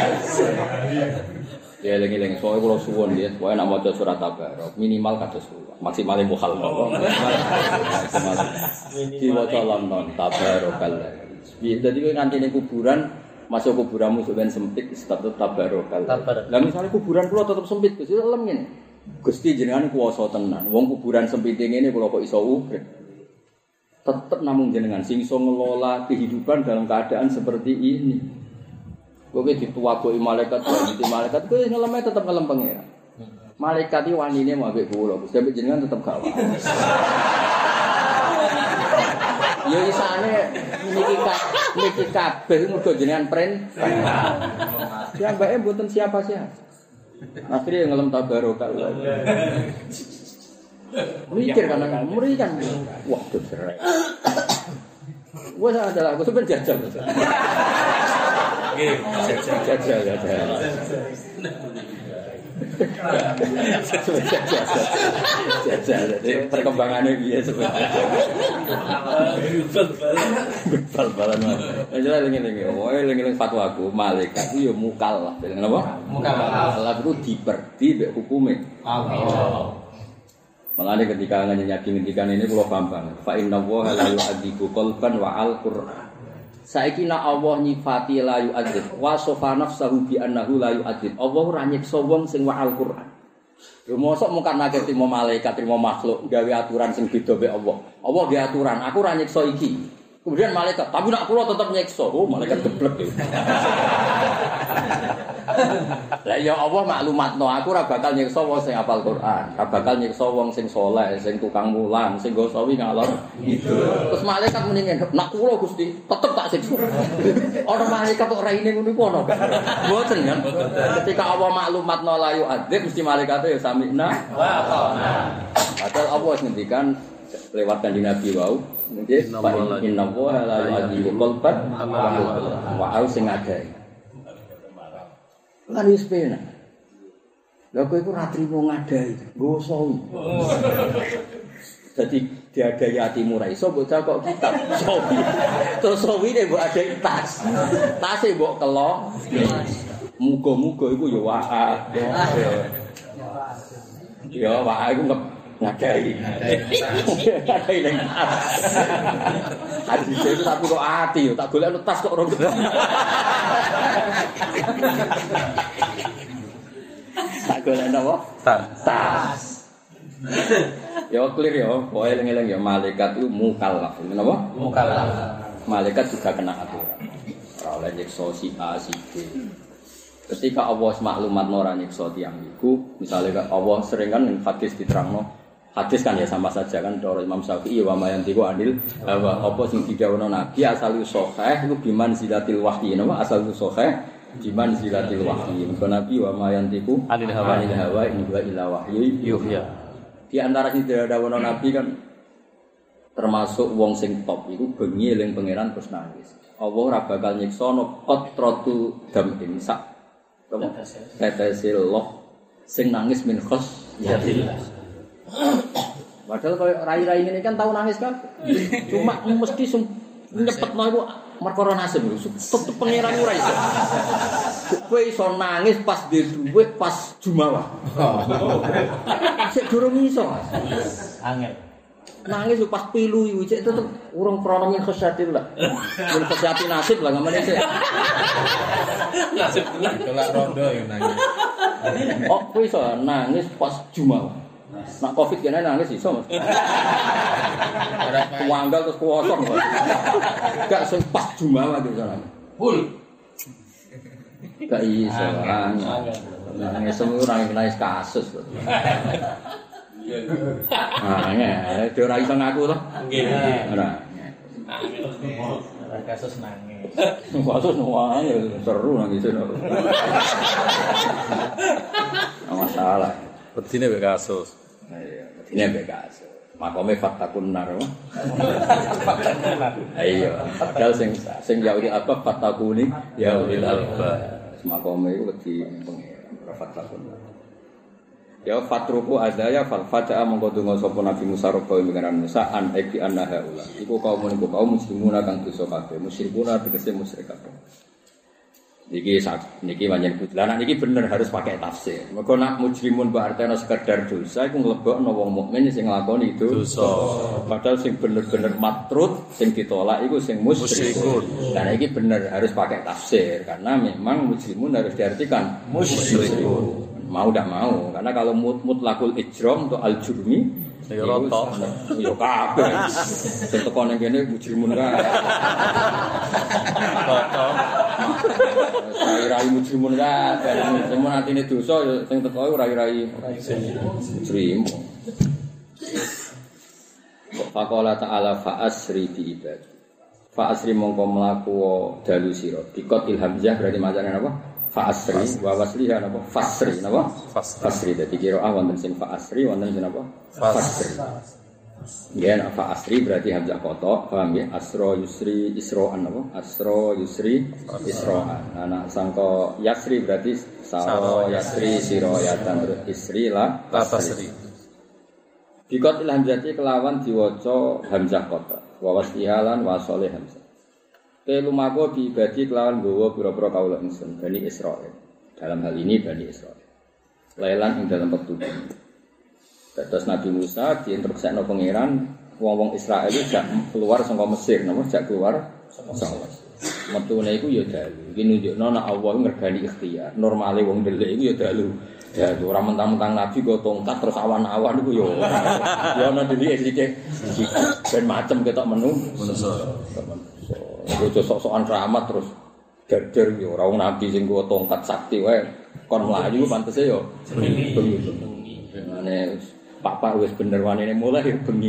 Ya lengi-lengi soalnya kalau suwon dia, pokoknya nak maca surat Tabarok minimal kados kula, maksimalnya mukhal. Maksimal. Diwaca lam non Tabarokal. Jadi kowe nganti ning kuburan, masuk kuburanmu sampeyan sempit tetep tabarokal. Lah misale kuburan kula tetep sempit, Gus, lem ngene. Gusti jenengan kuwasa tenan. Wong kuburan sempit ngene kula kok iso urip. Tetep namung jenengan sing iso ngelola kehidupan dalam keadaan seperti ini. Kowe dituwagoki malaikat, dadi malaikat kowe ngeleme tetep ngelem pangeran. Malaikat iki wanine mau ambek kula, Gusti jenengan tetep gak wae. Ya isane niki kabeh mergo jenengan perintah. Ya mbake mboten siapa-siapa. Akhirnya ngelem tabarokal. Mikir kan muri kan. Wah, cerai. Wes adalah aku sampe jajal. Nggih, jajal. Perkembangannya dia sebenarnya. Bal-balan. Jadi lengi-lengi fatwa aku malaikat itu ya mukallaf. Kenapa? Mukallaf itu diperti mbek hukume Allah. Makanya ketika ngendikan ini kula paham banget. Fa inna wa la yu'adzibu qalban wa al-Qur'an. Saiki nek Allah nyifati la yu'adzib wa sofa nafsahu bi annahu la yu'adzib. Allah ora nyiksa wong sing wa Al-Qur'an. Lho mosok mung karena trimo malaikat, trimo makhluk gawe aturan sing beda mek Allah. Allah gawe aturan, aku ora nyiksa iki. Kemudian malaikat, tapi nek kula tetep nyiksa. Oh, malaikat geblek. Lah ya Allah maklumatno, aku ora bakal nyiksa wong sing hafal Quran, ora bakal nyiksa wong sing saleh, sing tukang mulang, sing go sawi ngalor gitu. Terus malaikat muni ngene, "Nak kula Gusti, tetep tak siksa." Ora malaikat kok raine ngono iku ono. Mboten kan? Ketika Allah maklumatno la yu'adzib mesti malaikat ya sami'na wa ata'na. Padahal Allah ngendikan lewat kanjeng Nabi wau, nggih, inna wa la yu'adzibu qalban wa au sing adai. Lan wis penak. Lha kowe iku ra trimo ngadai, nggo sawi. Dadi diadai atimu ra iso mbok cakok kitab sawi. Terus sawine mbok adai tas. Tase mbok kelok. Muga-muga iku ya wa'a. Ya wa'a iku ngadai. Ngadai ning tas. Hadis itu tak kok ati yo, tak golek tas kok ora ketemu. Tak golek napa? Tas. Ya clear ya, pokoke eling-eling ya malaikat itu mukallaf. Napa? Mukallaf. Malaikat juga kena aturan. Ora oleh nyiksa si A si B. Ketika Allah maklumatno ora nyiksa tiyang iku, misalnya Allah sering kan ning hadis diterangno. Hadis kan ya sama saja kan cara Imam Syafi'i wa mayantiqu anil hawa apa sing didhawuhna Nabi asal sahih iku biman zilatil wahyi napa asal sahih biman zilatil wahyi mergo Nabi wa mayantiqu anil hawa in huwa illa wahyu yuhya. Di antara sing didhawuhna Nabi kan termasuk wong sing top iku bengi eling pangeran terus nangis. Allah ora bakal nyiksa no qatratu damin sak tetesil loh sing nangis min khos yatillah. Padahal kalau rai-rai ini kan tahu nangis kan, cuma mesti nyepetno iku perkara nasib lho. Tetep pangeran ora iso. Kowe iso nangis pas duwe pas Jumawa. Sik durung iso. Angel. Nangis pas pilu iku cek tetep urung krana min khosyatil lah. Min khosyatil nasib lah ngamane sik. Nasib tenan kelak rondo yo nangis. Oh, kowe iso nangis pas Jumawa. Nak Covid kene nangis iso Mas. Wanggal terus kuwosong. Gak sing pas Jumawa iki sana. Full. Gak iso. Nangis ora nangis kasus. Nah, ora iso ngaku to? Nggih. Ora. Kasus nangis. Kasus nangis seru nangis. Masalah. Bedine mek kasus. Iya, bedine mek kasus. Makome fatakun nar. Ayo, padahal sing Yahudi apa fatakuni Yahudi alba. Makome iku wedi pengen fatakun. Ya fatruku adaya fal fata'a mongko donga sapa Nabi Musa roba pengeran Musa an eki annaha ula. Iku kaum muslimuna kang dosa kabeh, musyrikuna tegese musyrik kabeh. Niki pancen butlan. Niki bener harus pakai tafsir. Mergo nak mujrimun mbok artene sekedar dosa iku nglebokno wong mukmin sing nglakoni dosa. Padahal sing bener-bener matrud sing ditolak iku sing musyrikun. Nah iki bener harus pakai tafsir karena memang mujrimun harus diartikan musyrikun. Mau tidak mau karena kalau mutlakul ijram atau al-jurmi ya roto. Ya kabeh. Sing teko ning kene mujrimun kae. Roto. Rai mujrimun kae. Semua atine dosa ya sing teko rai-rai mujrim. Faqala ta'ala fa'asri bi ibadi. Fa'asri mongko mlaku dalu sira. Dikot ilhamzah berarti macane apa? Fa'asri wa wasliha napa fasri napa fasri dadi qiraah wonten sing fa'asri wonten sing napa fasri ya nek fa'asri berarti hamzah qata paham ya asra yusri isra'an napa asra yusri isra'an ana sangka yasri berarti sara yasri sirayatan terus isri la tasri dikot il hamzati kelawan diwaca hamzah qata wa wasliha lan wasale hamzah lumaku diibadi kelawan gawa pira-pira kaula ingsun Bani Israil. Dalam hal ini Bani Israil. Lailan ing dalam petunjuk. Terus Nabi Musa diinstruksikno pangeran wong-wong Israel iki jak keluar saka Mesir, napa jak keluar saka Mesir. Metune iku ya dalu. Iki nunjukno nek Allah ngergani ikhtiar. Normale wong ndelik iku ya dalu. Ya ora mentang-mentang Nabi go tongkat terus awan-awan iku ya. Ya ana dhewe sithik. Ben macem ketok menu manusa. Ojo sok-sokan rahmat terus gerger yo ora wong nabi sing go tongkat sakti wae kon mlayu pantese yo bengi. Mane papa wis bener wanine mulai bengi.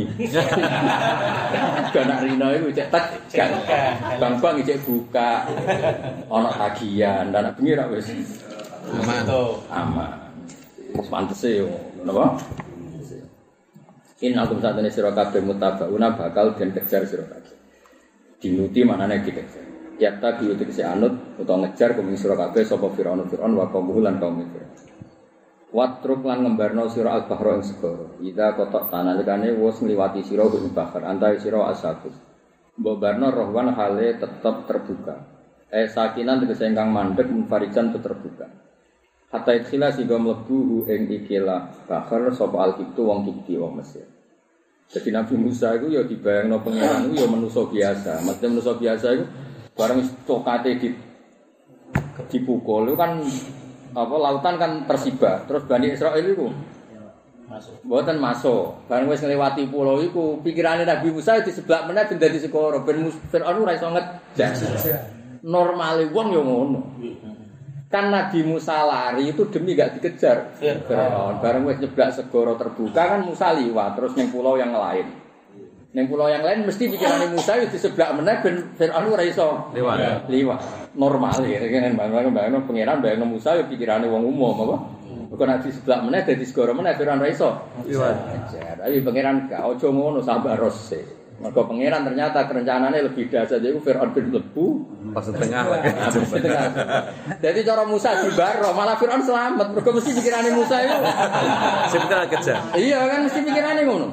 Ganak rina iku cek tak bang-bang cek buka ana tagihan dan bengi ra wis aman. Wis pantese yo napa? Innakum satene sira kabeh mutabauna bakal den kejar sira kabeh. Dinuti manane dikejar. Yatta diutik si anut utawa ngejar kuming sira kabeh sapa Firaun wa kaum lan kaum Firaun. Watruk lan ngembarno sira al-bahra ing segara. Ida kotok tanalikane wis ngliwati sira ing bahar antai sira asabut. Mbok barno rohwan hale tetep terbuka. Sakinan tegese ingkang mandeg munfarijan terbuka. Hatta ikhila sing mlebu ing ikilah bahar sapa al-kibtu wong kibti wong Mesir. Jadi Nabi Musa itu ya dibayangno pangeran itu ya manusia biasa. Maksudnya manusia biasa itu barang cokate dipukul itu kan apa lautan kan tersibak. Terus Bani Israil itu mboten masuk. Barang wis ngliwati pulau iku pikirane Nabi Musa di sebelah meneh ben dadi sekara ben Firaun ora iso ngejar. Normale wong ya ngono. Kan Nabi Musa lari itu demi gak dikejar Firaun. Bareng wis nyeblak segara terbuka kan Musa liwat terus ning pulau yang lain. Ning pulau yang lain mesti pikirane Musa di sebelah meneh ben Firaun ora iso liwat. Normal ya kan bayangno pangeran bayangno Musa ya pikirane wong umum apa. Bukan di sebelah meneh dadi segara meneh Firaun ora iso liwat. Tapi pangeran gak ojo ngono sabar rose. Maka pangeran ternyata kerencanannya lebih dahsyat yaiku Firaun bin lebu pas tengah. Jadi cara Musa dibaro malah Firaun selamat. Mergo mesti pikirane Musa itu Sebentar kejar. Iya kan mesti pikirane ngono.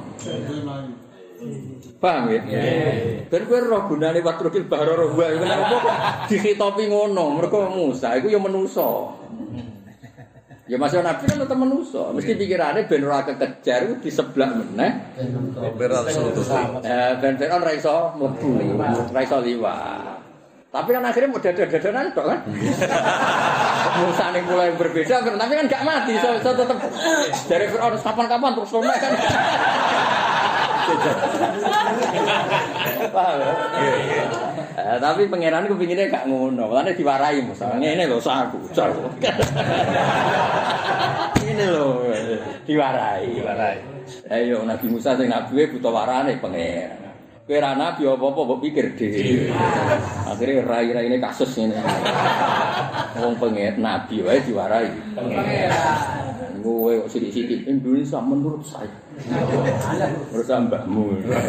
Paham ya? Ben kowe roh gunane watrukil bahra rohwa iku nek opo dikhitopi ngono. Mergo Musa iku ya manusa. Ya masih Nabi kan tetap manusia. Mesti pikirannya ben ora kekejar di sebelah meneh. Ben Firaun ra iso mlebu, ra iso liwat. Tapi kan akhirnya mau dadanan tok kan. Musa ning mulai berbeda, tapi kan gak mati. So tetep dari Firaun kapan-kapan terus lumek kan. Paham ya? Tapi pangeran kepinginnya gak ngono, makanya diwarai Musa. Ngene lho saku. Ini lho diwarai. Ayo Nabi Musa sing nabi buta warane pangeran. Kowe ra nabi apa-apa mbok pikir dhewe. Akhire rai-raine kasus ngene. Wong pengen nabi wae diwarai pangeran. Kowe kok sithik-sithik Indonesia menurut saya. Menurut mbakmu.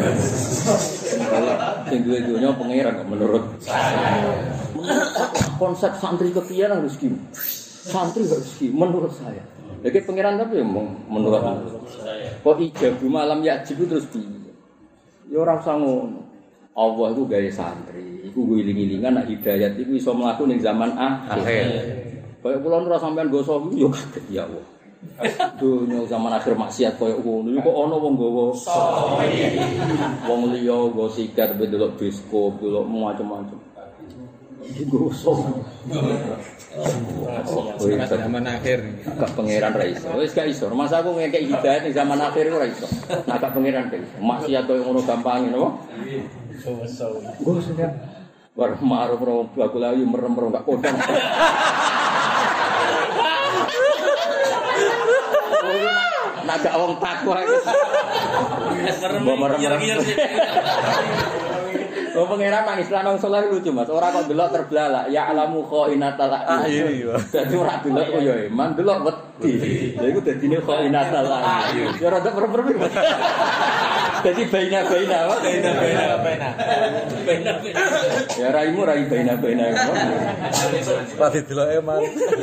Sing duwe-duwe pangeran kok menurut saya. Konsep santri kepiye nang rezeki. Santri rezeki menurut saya. Lagi pangeran tapi menurut saya. Kok ijabu malam yajib terus piye? Ya ora usah ngono. Allah iku gawe santri, iku ngiling-ilingan nek hidayat iku iso mlaku ning zaman akhir. Kaya kula ora sampean goso yo kaget ya Allah. Dunya zaman akhir maksiat kaya ngono kok ana wong nggawa wong liya nggo sikat delok bioskop, delok macam-macam. Goso. Zaman akhir. Gak pangeran ra iso. Wis gak iso. Masa aku ngekek hidayat ning zaman akhir ora iso. Nah gak pangeran gak iso. Maksiat kaya ngono gampang napa? Goso ya. War marung rong aku lagi merem-merem gak kodang. Nak gak wong takwa iki. Merem-merem. Oh pangeran nang Islam wong saleh lucu Mas. Ora kok delok terbelalak, ya alamu khainatal a'yun. Dadi ora delok kok ya iman, delok wedi. Lha iku dadine khainatal a'yun. Ya rada perem-perem. Dadi baina-baina apa? Baina-baina. Ya raimu rai baina-baina. Pati delok iman.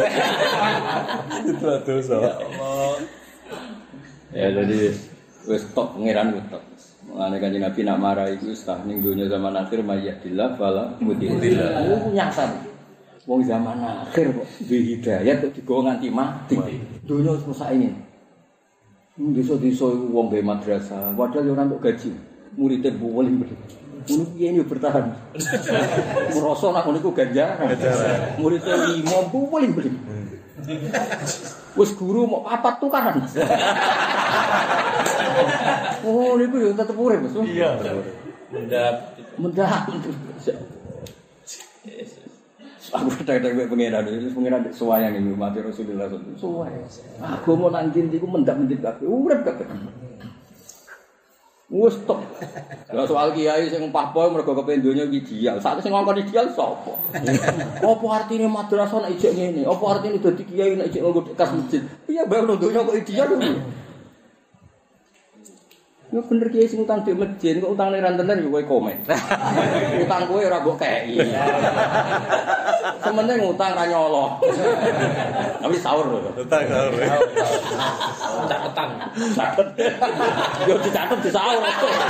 Itu dosa. Ya Allah. Ya jadi wis tok pangeran wis tok. Mulane Kanjeng Nabi nak marah iku stah ning donya zaman akhir mayyadillah wala mudillah. Oh nyasar. Wong zaman akhir kok duwe hidayat kok digawa nganti mati. Donya wis rusak ini. Desa-desa iku wong gawe madrasah, padahal yo ora entuk gaji. Muridé buweling. Ngono piye yo bertahan. Ngrasa nek ngono iku ganjaran. Muridé 5 buweling. Wis guru mau papat tukaran. Oh, niku yo tetep urip, Mas. Iya. Mendah. Aku tak-tak pengeran suwayang iki mati Rasulullah sallallahu alaihi wasallam. Aku mau nang ndi iku mendak-mendik kabeh, urip kabeh. Wes tok. Lah soal kiai sing pahpoe mergo kepen donya ideal. Sak sing ngongkon ideal sapa? Apa artine madrasah nek ijek ngene? Apa artine dadi kiai nek ijek nggo kas masjid? Piye bae nang donya kok ideal lho. Yo bener kiai sing utang di masjid, kok utangne ra tenan yo kowe komen. Utang kowe ora mbok kei. Sementing ngutang ra nyolong. Tapi sahur lho. Utang sahur. Catetan. Yo dicatet di sahur.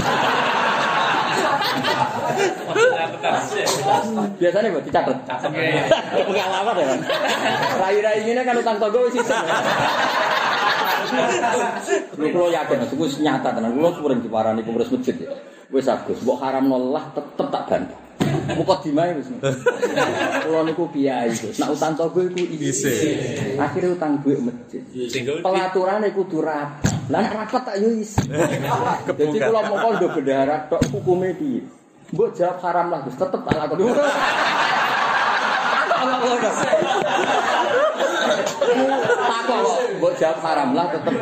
Biasanya buat dicatet. Pengalaman ya. Rai-rai ini kan utang tonggo wis isin. Kulo yakin itu wis nyata tenan. Kulo sering diparani pengurus masjid ya. Wis Agus, mbok haramno lah tetep tak bantu. Mukadimah wis. Kulo niku kiai Gus. Nek utang tonggo iku isin. Akhire utang duit masjid. Pelaturane kudu rapat. Lah nek rapat tak yo isin. Dadi kulo moko ndo bendahara tok hukume piye? Mbok jawab haram lah Gus, tetep tak lakoni. Mbok jawab haram lah tetep.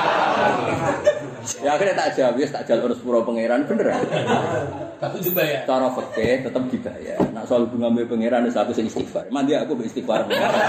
Ya akhirnya tak jawab, ya tak jalur sepuro pangeran bener. Tapi dibayar. Cara fikih tetep dibayar. Nak soal bunga mbek pangeran wis aku sing istighfar. Mandi aku mbek istighfar.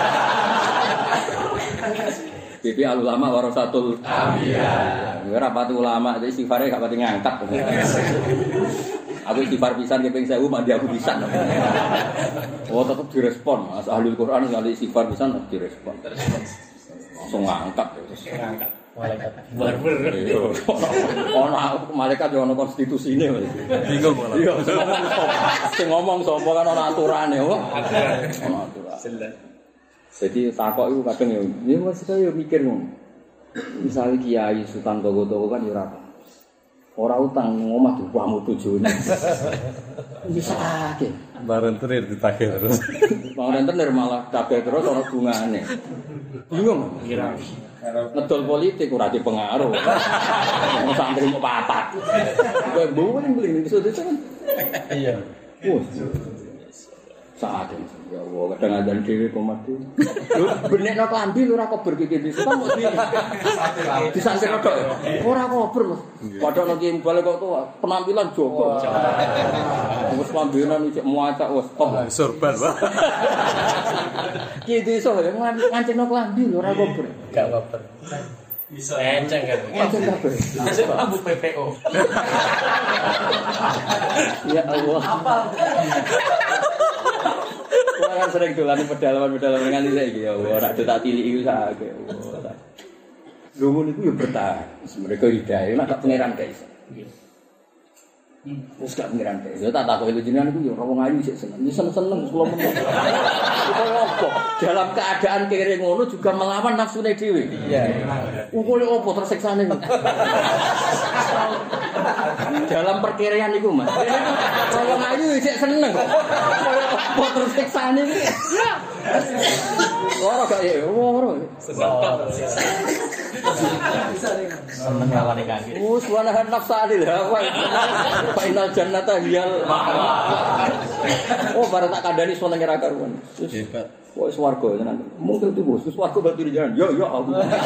Bibi ulama warasatul anbiya. Ya ora pati ulama, istighfare gak pati ngangkat. Aku istighfar pisan keping 1000 mandi aku pisan. Oh tetep direspon. Mas ahli Quran kali istighfar pisan direspon. Langsung ngangkat terus. Ngangkat. Malaikat. Barber. Ono malaikat yo ono konstitusine. Bingung malah. Iya, sing ngomong sapa kan ono aturane, kok. Ono aturan. Jadi takok iku kadang yo wis yo mikir ngono. Misale kiai sultan togo-togo kan yo ora utang ning omah duwamu bojone. Bisa akeh. Bareng terir ditagih terus. Bareng terir malah kabeh terus ana bungane. Bingung. Kira. Ngedol politik ora dipengaruh. Wong santri mau papat. Kowe mbuling-mbuling iso kan. Iya. Wes. Saat ini, ya Allah, kadang ada dewi komadi. Lu benekno klambi lu ora kober iki iki. Kan mesti disantir tok. Ora kober, Mas. Padahal nek imbal kok penampilan jogo. Wes pambenan iki muacak wes top. Sorban, Pak. Ki iso ya nganceno klambi lu ora kober. Gak kober. Bisa enceng kan. Enceng kabeh. Masuk abu PPO. Ya Allah. Apa? Kan sering dolan pedalaman-pedalaman nganti saiki ya ora tak tilik iku sak. Lho ngono iku yo bertahan. Mereka hidayah nek tak pangeran gak iso. Wis gak pengiran teh. Ya tak takoki jenengan iku ya ora wong ayu sik seneng. Ya seneng-seneng kula meneng. Kaya apa? Dalam keadaan kere ngono juga melawan nafsune dhewe. Iya. Ukule opo tersiksane. Dalam perkiraan iku, Mas. Kaya wong ayu sik seneng kok. Kaya opo tersiksane iki. Ora gak ya, ora. Seneng lawane kaki. Subhanallahi nafsadil hawa. Final jannata hiyal ma'wa. Oh, bareng tak kandhani seneng ra karuan. Hebat. Kok swarga tenan. Mungkin itu bos, swarga batu di jalan. Ya aku.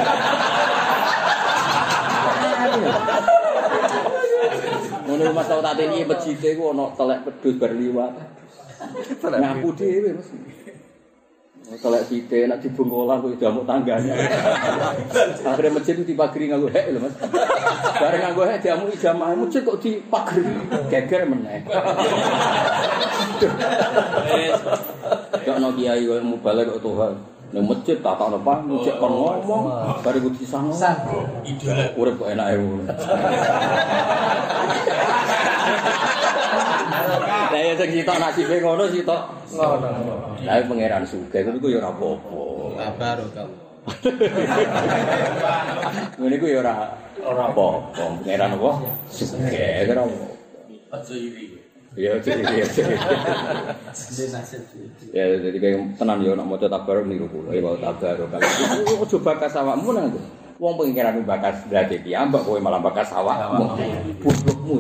Ngono Mas tau tak teni mejite ku ana telek pedhus bar liwat. Nyapu dhewe Mas. Telek sithik nek dibengkolan kok jamuk tanggane. Akhire masjid dipageri nganggo hek lho Mas. Bareng nganggo hek diamuki jamaah masjid kok dipageri. Geger meneh. Kok ono kiai kok mubalek kok Tuhan. Nang masjid tatakno panggung cek kon ngomong bare ku disango. Idola urip kok enake ngono. Lah ya sing sitok nasibe ngono sitok ngono. Lah pangeran sugih niku ya ora apa-apa. Sabar kok. Ngene iku ya ora apa-apa. Pangeran apa? Sugih ora apa. Aja iri. Ya jadi ya jadi kayak tenan ya nak maca tabarok niku kula ya wae tabarok kan ojo bakas awakmu nang wong pengiran bakas berarti piyambak kowe malah bakas awakmu goblokmu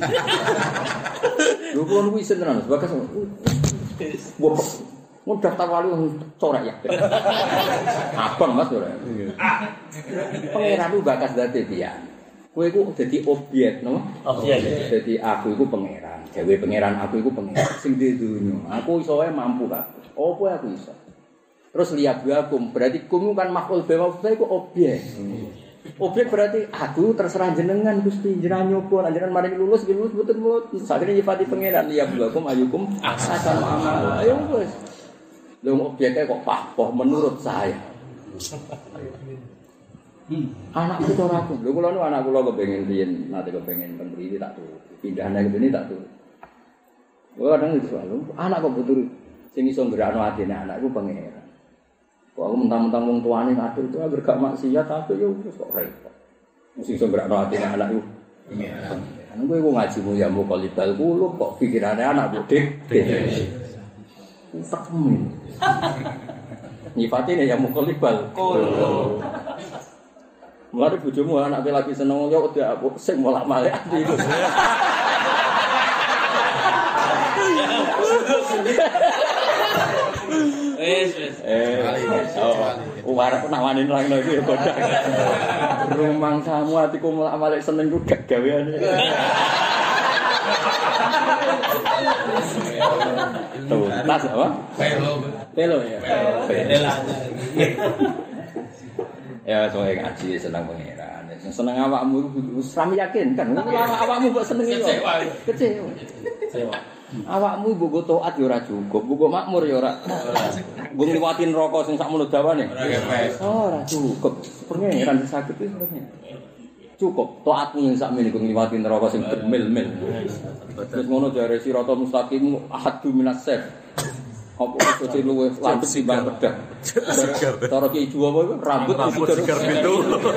lho kon kuwi tenan bakas wong daftar wali corek ya abang Mas ora pengiran bakas berarti piye kowe iku dadi objek no objek dadi aku iku pangeran dewe pangeran aku iku pangeran sing di dunya aku iso wae mampu kabeh opo aku iso terus liyabakum berarti kum kan makhluk bawa iku objek objek berarti aku terserah jenengan Gusti jenengan nyoba jenengan mari lulus betul-betul sakjane nyifati pangeran liyabakum ayukum asan amal ayo wis lho objeknya kok pahpoh menurut saya anak itu ora aku. Lho kula nu anak kula kepengin riyen nate kepengin teng mriki tak turut. Pindahane kene tak turut. Ora kadang itu soal anak kok butuh sing iso nggerakno atine anak iku pangeran. Kok aku mentang-mentang wong tuane ngatur itu agar gak maksiat tapi yo wis kok repot. Mesti iso nggerakno atine anak iku. Iya. Kan kowe ngajimu ya mbok libal kulub kok pikirane anak bodek. Tak temen. Nyifatine ya mukolibal. Mulane bojomu anake lagi seneng yo udah sing molak-malik ati iku. Wis. Warep nawani nang iki ya godhak. Rumang samu atiku molak-malik seneng ku gak gaweane. Tuh, tas apa? Pelo ya. Pelanya. Ya soalnya ngaji senang pangeran. Senang awakmu wis ram yakin kan. Awakmu mbok seneng iki. Kecewa. Awakmu mbok taat ya ora cukup, mbok makmur ya ora. Mbok ngliwati neraka sing sakmono dawane. Ora cukup. Pangeran sakit iki sebenarnya. Cukup taatmu yang sakmene iku ngliwati neraka sing bermil-mil. Terus ngono jare sirata mustaqim ahadu minas sir. Apa iso luwih landhep timbang pedang. Cara ki ijo apa rambut sigar itu.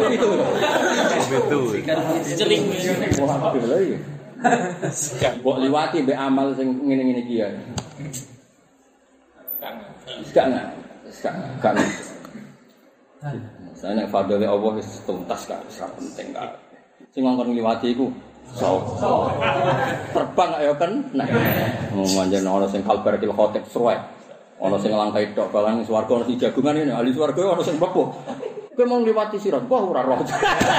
Itu. Celing. Wah, lha iki. Mbok liwati mbek amal sing ngene-ngene iki ya. Kan. Saya fadhole Allah wis tuntas kan, ora penting kan. Sing ngongkon ngliwati iku terbang ya kan. Nah, manjen ana sing kalbar kil khotib sruwek. Ana sing langkai tok balang swarga ana sing jagungan ngene, ahli swarga ana sing mlebu. Kowe mau ngliwati sirat, wah ora roh.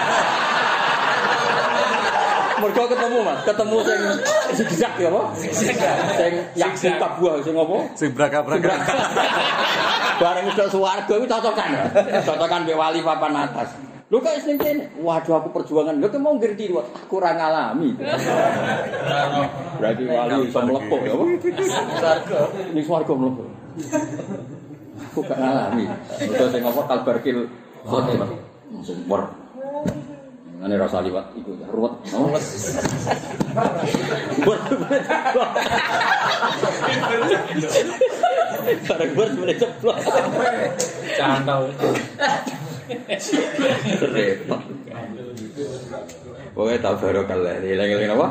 Mergo ketemu Mas, ketemu sing zigzag ya apa? Sing yakin kabuah sing apa? Sing braka-braka. Bareng udah swarga iku cocokan. Cocokan mbek wali papan atas. Lho kok sing kene? Waduh aku perjuangan. Lho kok mau ngerti aku ora ngalami. Berarti wali iso mlebu ya apa? Swarga. Ning swarga mlebu. Aku gak ngalami. Terus sing apa kalbarkil khotim. Sumber. Ngene rasa liwat iku ruwet. Bareng bor mulai ceplok. Cantau. Repot. Pokoknya tak barokah lah. Hilang-hilang apa?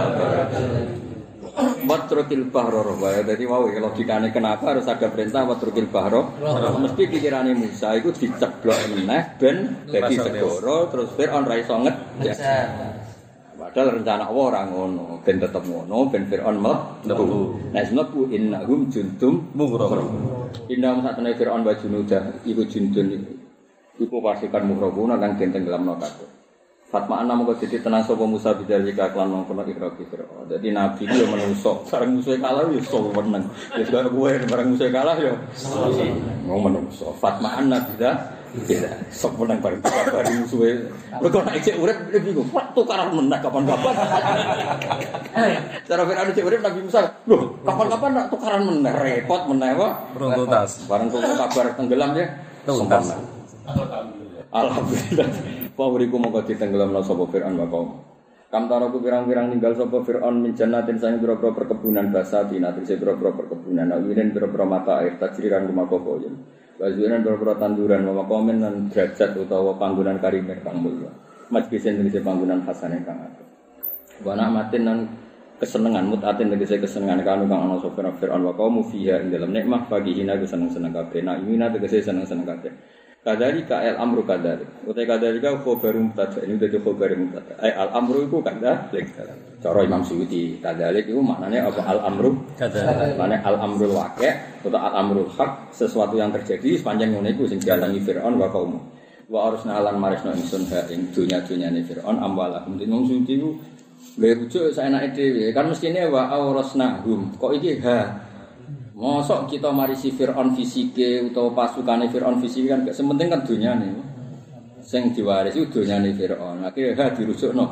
Watrukil bahro. Jadi mau logikanya kenapa harus ada perintah watrukil bahro? Mesti pikirannya Musa itu diceblok meneh ben dadi segoro terus Firaun ra iso ngejar. Padahal rencana Allah ora ngono, ben tetep ngono, ben Firaun mlebu. Nek mlebu innahum juntum mughraqun. Innahum satene Firaun wa junudah iku jundun iku pasukan mughraquna kang den tenggelamno kabeh. Fatma ana mongko dadi tenang sapa Musa bidalika kelan mongkon ikraki Firaun. Dadi nabi iki yo menungso, bareng musuhe kalah yo iso meneng. Wis kaya kowe bareng musuhe kalah yo mau menungso. Fatma ana tidak sok menang bareng musuhe. Mergo nek isih urip bingung, tukaran menang kapan-kapan. Cara Firaun isih urip Nabi Musa, lho kapan-kapan nak tukaran menang repot meneh wae. Runtutas. Bareng kabar tenggelam ya. Tuntas. Alhamdulillah. Pawuriku mongko ditenggelamno sapa Firaun wa kaum. Kam taraku pirang-pirang ninggal sapa Firaun min jannatin sang pira-pira perkebunan basati natrise pira-pira perkebunan awiren pira-pira mata air tajriran kumakopoyen. Bajuran pira-pira tanduran wa komen lan derajat utawa panggonan karimah kang mulya. Majlisen tegese panggonan hasane kang apik. Wa na'matin lan kesenengan mutatin tegese kesenengan kanu kang ana sapa Firaun wa kaum fiha ing dalem nikmah fagihina seneng-seneng kabeh. Nak imina tegese seneng-seneng kabeh. Kadari ka al amru kadari. Utai kadari ka khobarum tada. Ini udah khobarum tada. Al amru itu kadari. Cara Imam Suyuti kadari itu maknanya apa al amru kadari. Maknanya al amrul waqi' atau al amrul haq sesuatu yang terjadi sepanjang ngono iku sing dialami Firaun wa kaum. Wa arusna lan marisna ingsun ha ing dunya-dunyane Firaun amwalahum. Imam Suyuti ku rujuk saenake dhewe. Kan mestine wa aurasnahum. Kok iki ha mosok kita marisi Firaun fisike utawa pasukane Firaun fisike kan gak sementing kan dunyane. Sing diwarisi dunyane Firaun. Akhire dirujukno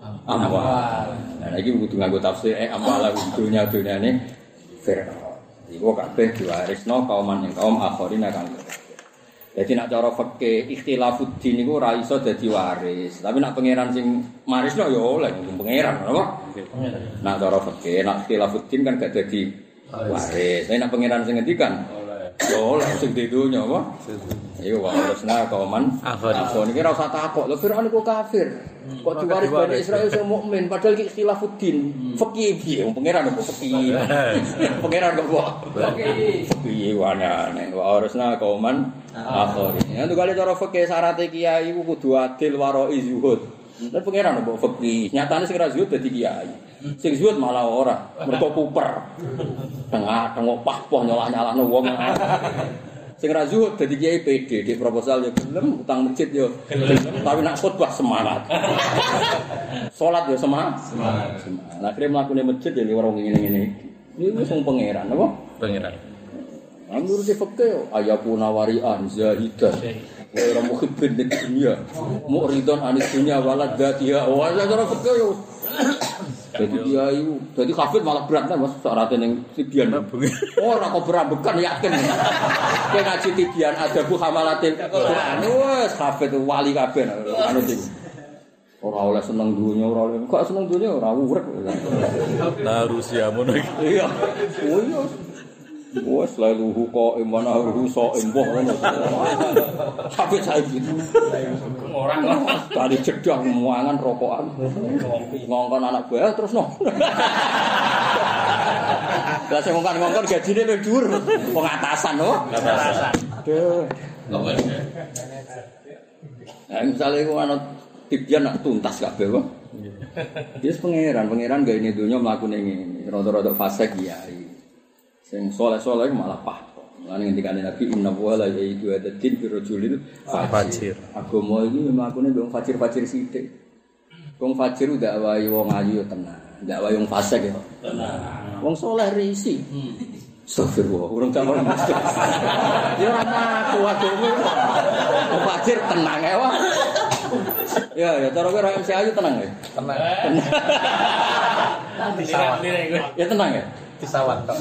amwal. Nah iki kudu nganggo tafsir amwal dunyane Firaun. Iku kabeh diwarisno kauman ing kaum akhirin kan. Jadi nak cara fikih ikhtilafuddin niku ora iso dadi waris. Tapi nak pangeran sing marisno ya oleh pangeran, apa? Nak cara fikih nak ikhtilafuddin kan gak dadi waris. Nek pangeran sing ngendikan oleh sing di dunya apa? Iku warasna kauman akhirin. Iki ora usah takok. Lho Firaun iku kafir. Kok diwaris Bani Israil sing mukmin padahal iki ikhtilafuddin. Fikih piye? Wong pangeran kok fikih. Pangeran kok piye wanane. Warasna kauman akhirin. Nek kali cara fikih syarat kiai iku kudu adil waroi zuhud. Lan pangeran kok fikih. Nyatane sing ra zuhud dadi kiai. Sing zuhud malah ora, mergo kuper. Tengah-tengah pah-pah nyolah-nyalahno wong. Sing ra zuhud dadi kiai PD, di proposal ya gelem, utang masjid ya gelem, tapi nak khotbah semangat. Salat ya semangat. Lah kire mlakune masjid ya liwat wong ngene-ngene. Iki wis wong pangeran apa? Pangeran. Menurut fikih ayapuna wari'an zahidah. Wa ora muhibbin dunya. Mu'ridun anis dunya walad dzatiha. Wa cara fikih yo jadi kiai, jadi kafir malah berat kan mas syaratnya yang tidian. Ora kok berambekan yakin. Kayak ngaji tidian ada bu hamalatin. Wes kafir itu wali kafir. Anu sih. Ora oleh seneng dunia, ora oleh. Kok seneng dunia ora urip. Nah Rusia mono iki. Iya. Oh iya. Wes lalu kok imana ruso emboh ngono. Sampai saiki. Orang tadi cedak muangan rokokan. Ngongkon anak buah terus no. Lah sing ngongkon gajine luwih dhuwur. Pengatasan no. Pengatasan. Aduh. Nah, misalnya iku ana tibian nak tuntas kabeh kok. Wis pangeran gawe ini donya mlakune ngene. Rada-rada fase kiai. Sing soleh-soleh malah pah. Lan ngendikane Nabi inna wa la yaitu adatin fi rajulin fajir. Agama iki mlakune wong fajir-fajir sithik. Wong fajir ndak wae wong ayu tenang, ndak wae wong fasik ya. Tenang. Wong soleh risi. Astagfirullah, urung kamu. Ya ora aku agama. Wong fajir tenang ae wae. Ya cara kowe ra MC ayu tenang ya. Tenang. Ya tenang ya. Pesawat kok.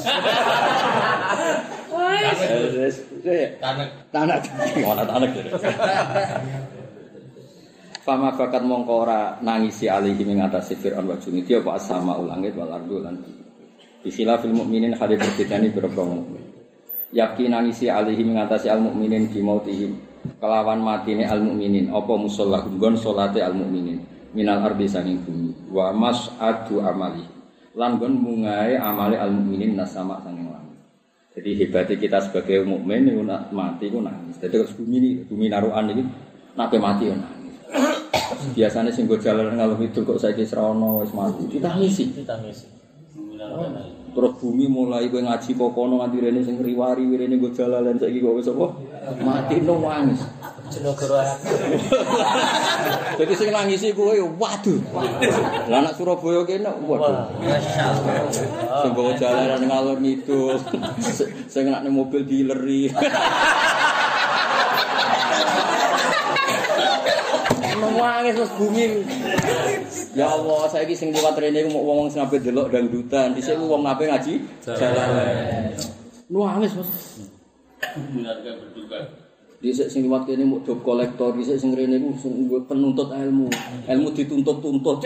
Tanah. Mana tanah. Fama bakat mongko ora nangisi alihi ing atase Firaun wa junudi apa asama ulangit wal ardu lan bikhilafil mukminin hale berbedane berapa mukmin. Yakin nangisi alihi ing atase al mukminin di mautihim kelawan matine al mukminin apa musallahum gon salate al mukminin minal ardi sanging bumi wa mas'adu amali lan gon mungae amale al mukminin nasama sanging langit. Jadi hebatnya kita sebagai mukmin niku mati ku nangis. Dadi bumi narukan iki nek mati yo nangis. Biasanya sing go jalan ngalor itu kok saiki srono wis mati ditangisi. Terus bumi mulai kowe ngaji kok kono nganti rene sing riwari rene go jalan saiki kok wis apa mati nangis. Jenegara. Jadi sing nangisi kowe waduh. Lah anak Surabaya kene waduh. Masyaallah. Sing go jalan ngalor itu sing nek mobil dileri. Nangis terus bumi. Ya Allah, saiki sing liwat rene ku wong sing ape delok dangdutan, dhisik ku wong ape ngaji jalan. Nangis Mas. Benarkah berduka? Dhisik sing liwat kene muk job kolektor, dhisik sing rene ku sing penuntut ilmu. Ilmu dituntut-tuntut.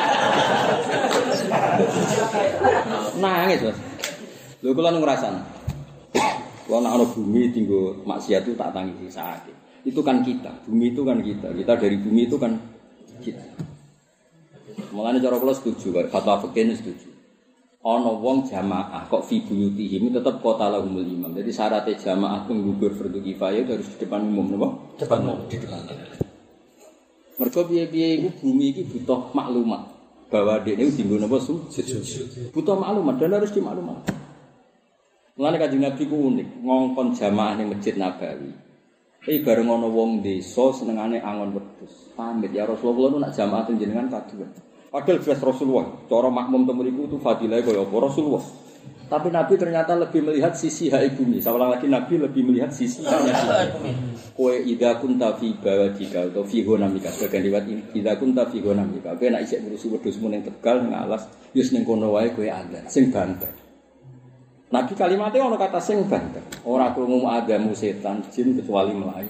Nangis Mas. Lho kula ngrasani. Wong nek ana bumi tinggo maksiat itu tak tangisi sakit. Itu kan kita, bumi itu kan kita dari bumi itu kan kita. Mulane cara kula setuju, fatwa fikih setuju. Ana wong jamaah kok fi buyutihim tetep kota lahumul imam. Jadi syaratnya jamaah penggugur fardu kifayah harus di depan umum napa? Depan umum, di depan. Mergo piye-piye iku bumi iki butuh maklumat bahwa dekne dienggo napa sujud. Butuh maklumat dan harus dimaklumat. Mulane Kanjeng Nabi ku unik, ngongkon jamaah ning Masjid Nabawi. Bareng ana wong desa senengane angon wedhus. Pamit ya Rasulullah nu nak jamaah jenengan kaduan. Padahal jelas Rasulullah, cara makmum temu iku itu fadilah kaya apa Rasulullah. Tapi Nabi ternyata lebih melihat sisi hak bumi. Seorang lagi Nabi lebih melihat sisi haknya bumi. Kowe idza kunta fi bawadika atau fi gonamika sebagian riwayat idza kunta fi gonamika. Kowe nek isih ngurusi wedhusmu ning Tegal ning alas, wis ning kono wae kowe azan sing banter. Nabi kalimatnya ono kata sing banter. Ora krungu agamu setan jin kecuali melayu.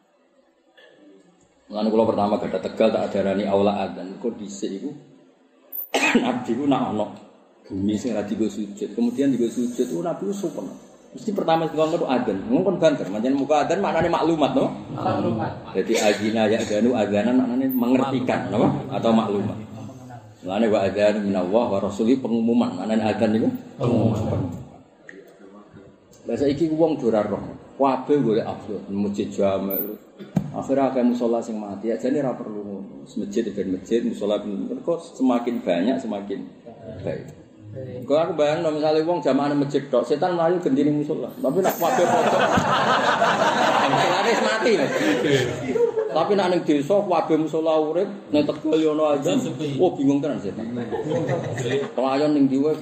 Lan kula pertama gada Tegal tak ajarani aula adzan. Kok dhisik iku Nabi ku nak ono bumi sing ra digo sujud. Kemudian digo sujud ku Nabi ku sopan. Mesti pertama ngomong adzan. Ngomong banter. Manjen muka adzan maknane maklumat no? Maklumat. Jadi azina ya danu adzanan maknane mengertikan no? Atau maklumat. Lane wa adzan minallah wa rasuli pengumuman. Maknane adzan niku pengumuman. Lah saiki wong ora roh. Kabeh golek afdol masjid jame. Akhire akeh musala sing mati. Ajane ora perlu ngono. Masjid ben masjid, musala ben kok semakin banyak semakin baik. Kok aku bayangno misale wong jamaah masjid tok, setan mlayu gendine musala. Tapi nek kabeh foto. Setan mati. Tapi nek ning desa kabeh musala urip, nek Tegal yo ono aja. Oh bingung tenan setan. Pelayan ning diwe.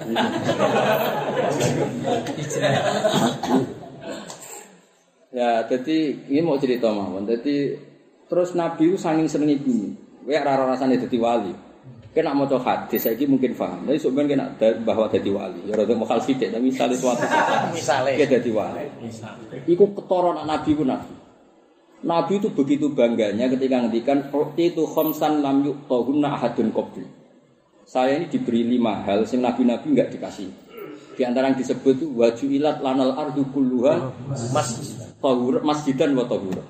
Ya, jadi ini mau cerita mawon. Jadi terus Nabi itu saking senengi bumi. Kowe ora rasane dadi wali. Kena maca hadis saiki mungkin paham. Tapi sebenarnya kena bahwa dadi wali. Ya rada mokal sithik, tapi misale suatu misale dadi wali. Iku ketara Nabi ku Nabi. Nabi itu begitu bangganya ketika ngendikan itu khamsan lam yuqtahunna ahadun qabli. Saya ini diberi 5 hal sing nabi-nabi enggak dikasih. Di antara yang disebut itu wajuilat lanal ardu kulluha masjidan wa tahura.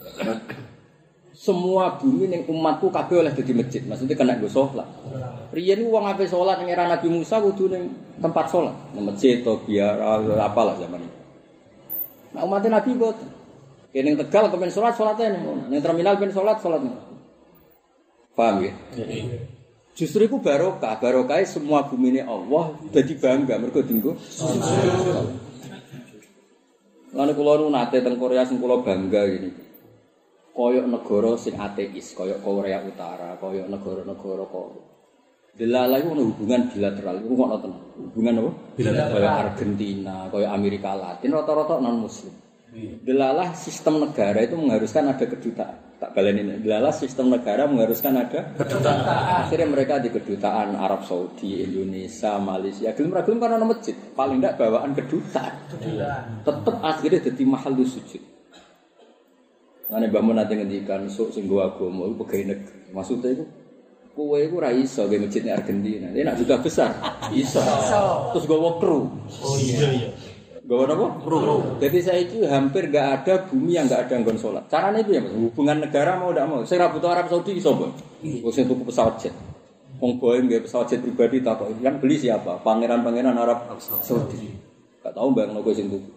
Semua bumi ning umatku kabeh oleh dadi masjid. Maksudnya kena nggo salat. Riyen wong ape salat ning era Nabi Musa kudu ning tempat salat, ning masjid to biar apalah zaman itu. Nah umat Nabi boten. Ning Tegal kepen salat salate ning terminal ben salat. Paham ya? Justru itu barokah semua bumi ini Allah jadi bangga mereka tinggal. Lalu kalau nate teng Korea sing kula bangga gini, koyok negara sing ateis, koyok Korea Utara, koyok negara-negara koyok. Delala itu ada hubungan bilateral, itu kok nonton hubungan apa? Bilateral. Koyok Argentina, koyok Amerika Latin, rata-rata non Muslim. Delalah sistem negara itu mengharuskan ada kedutaan. Tak balenin. Delalah sistem negara mengharuskan ada kedutaan. Akhirnya mereka di kedutaan Arab Saudi, Indonesia, Malaysia. Gelem-gelem karena ada masjid. Paling tidak bawaan kedutaan. Tetap akhirnya jadi mahal sujud. Ane Mbah Mun nate ngendikan sok sing go agama iku pegawai negeri. Maksudnya iku kowe iku ora iso ge masjid ning Argentina. Ini nak juga besar. Iso. Terus gowo kru. Oh iya. Gowo apa? Kru. Jadi saiki hampir enggak ada bumi yang enggak ada nggon salat. Carane piye, Mas? Hubungan negara mau ndak mau. Sing ra butuh Arab Saudi iso, Bang. Wis tuku pesawat jet. Wong Boeing nggih pesawat jet pribadi takok, yang beli siapa? Pangeran-pangeran Arab Saudi. Enggak tahu Bang kowe sing tuku.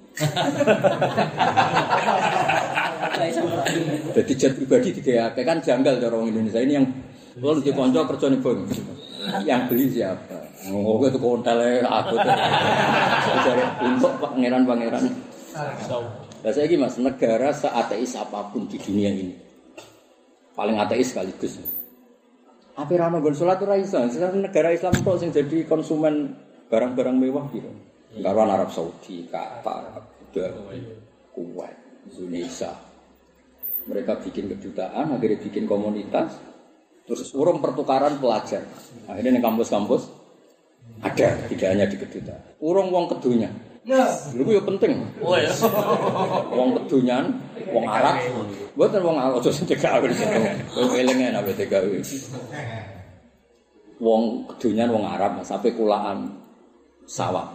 Jadi jet pribadi digawe kan janggal cara wong Indonesia ini yang kalau di konco kerja nih Bang, yang beli siapa? Oh, itu kontele aku tuh. Dari untuk pangeran-pangeran. Nah, saya gini Mas, negara seateis apapun di dunia ini, paling ateis sekaligus. Apa rano gonsolat itu raisa? Sekarang negara Islam tuh yang jadi konsumen barang-barang mewah gitu. Karuan Arab Saudi, Qatar, Kuwait, Indonesia. Mereka bikin kedutaan, akhirnya bikin komunitas. Terus urung pertukaran pelajar. Akhirnya di kampus-kampus ada, tidak hanya di kedutaan. Urung wong kedunya. Lha ya penting. Oh ya. Wong kedunyan, wong Arab. Mboten wong Arab aja sing gawe. Wong elenge nek gawe. Wong kedunyan wong Arab sampai kulaan sawah.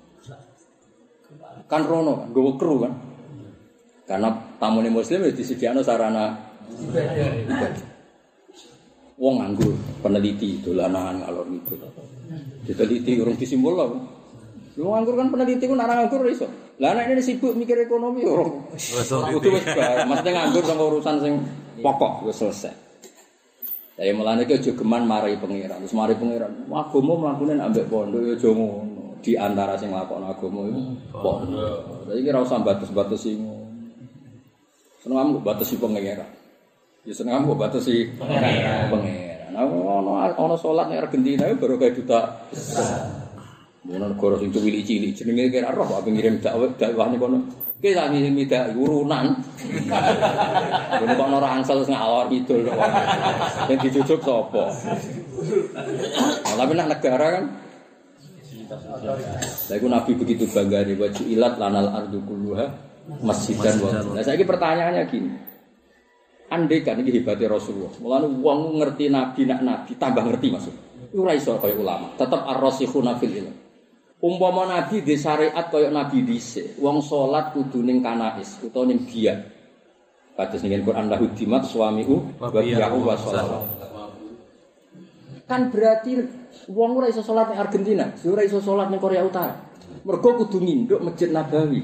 Kan rono kan, nggowo kru kan. Karena tamune muslim wis disediakno sarana ibadah. Wong nganggur, peneliti dolanan ngalor gitu. Diteliti urung disimpul lho. Wong nganggur kan peneliti ku nek nganggur iso. Lah nek ini sibuk mikir ekonomi urung. Kudu wis bar, mesti nganggur kanggo urusan sing pokok wis selesai. Saya mulane ki aja geman mari pangeran. Terus mari pangeran, agama mlakune ambek pondok ya aja ngono. Di antara sing nglakoni agama iku pondok. Dadi ki ora usah batas-batasi ngono. Seneng kok batasi pangeran. Ya seneng kok batasi pangeran. Ana salat ning Argentina baru kayak duta. Mun negara sing cilik-cilik jenenge kira roh apa ngirim dakwah ning kono. Ki sak ngirim dak urunan. Ngono kok ora angsal ngalor kidul kok. Sing dijujuk sapa? Tapi nak negara kan Lah iku Nabi begitu bangga nih wajib ilat lanal ardu kulluha masjidan wa. Nah saiki pertanyaannya gini. Andai kan iki hebate Rasulullah. Mulane wong ngerti Nabi nak Nabi tambah ngerti maksud. Iku ora iso kaya ulama. Tetep ar-rasikhuna fil ilm. Umpama Nabi di syariat kaya Nabi dhisik, wong salat kudu ning kanais utawa ning biak. Kados ning Quran lahu dimat suamiu wa bi'u wa shalawat. Kan berarti wong ora iso salat ning Argentina, ora iso salat ning Korea Utara. Mergo kudu nginduk Masjid Nabawi.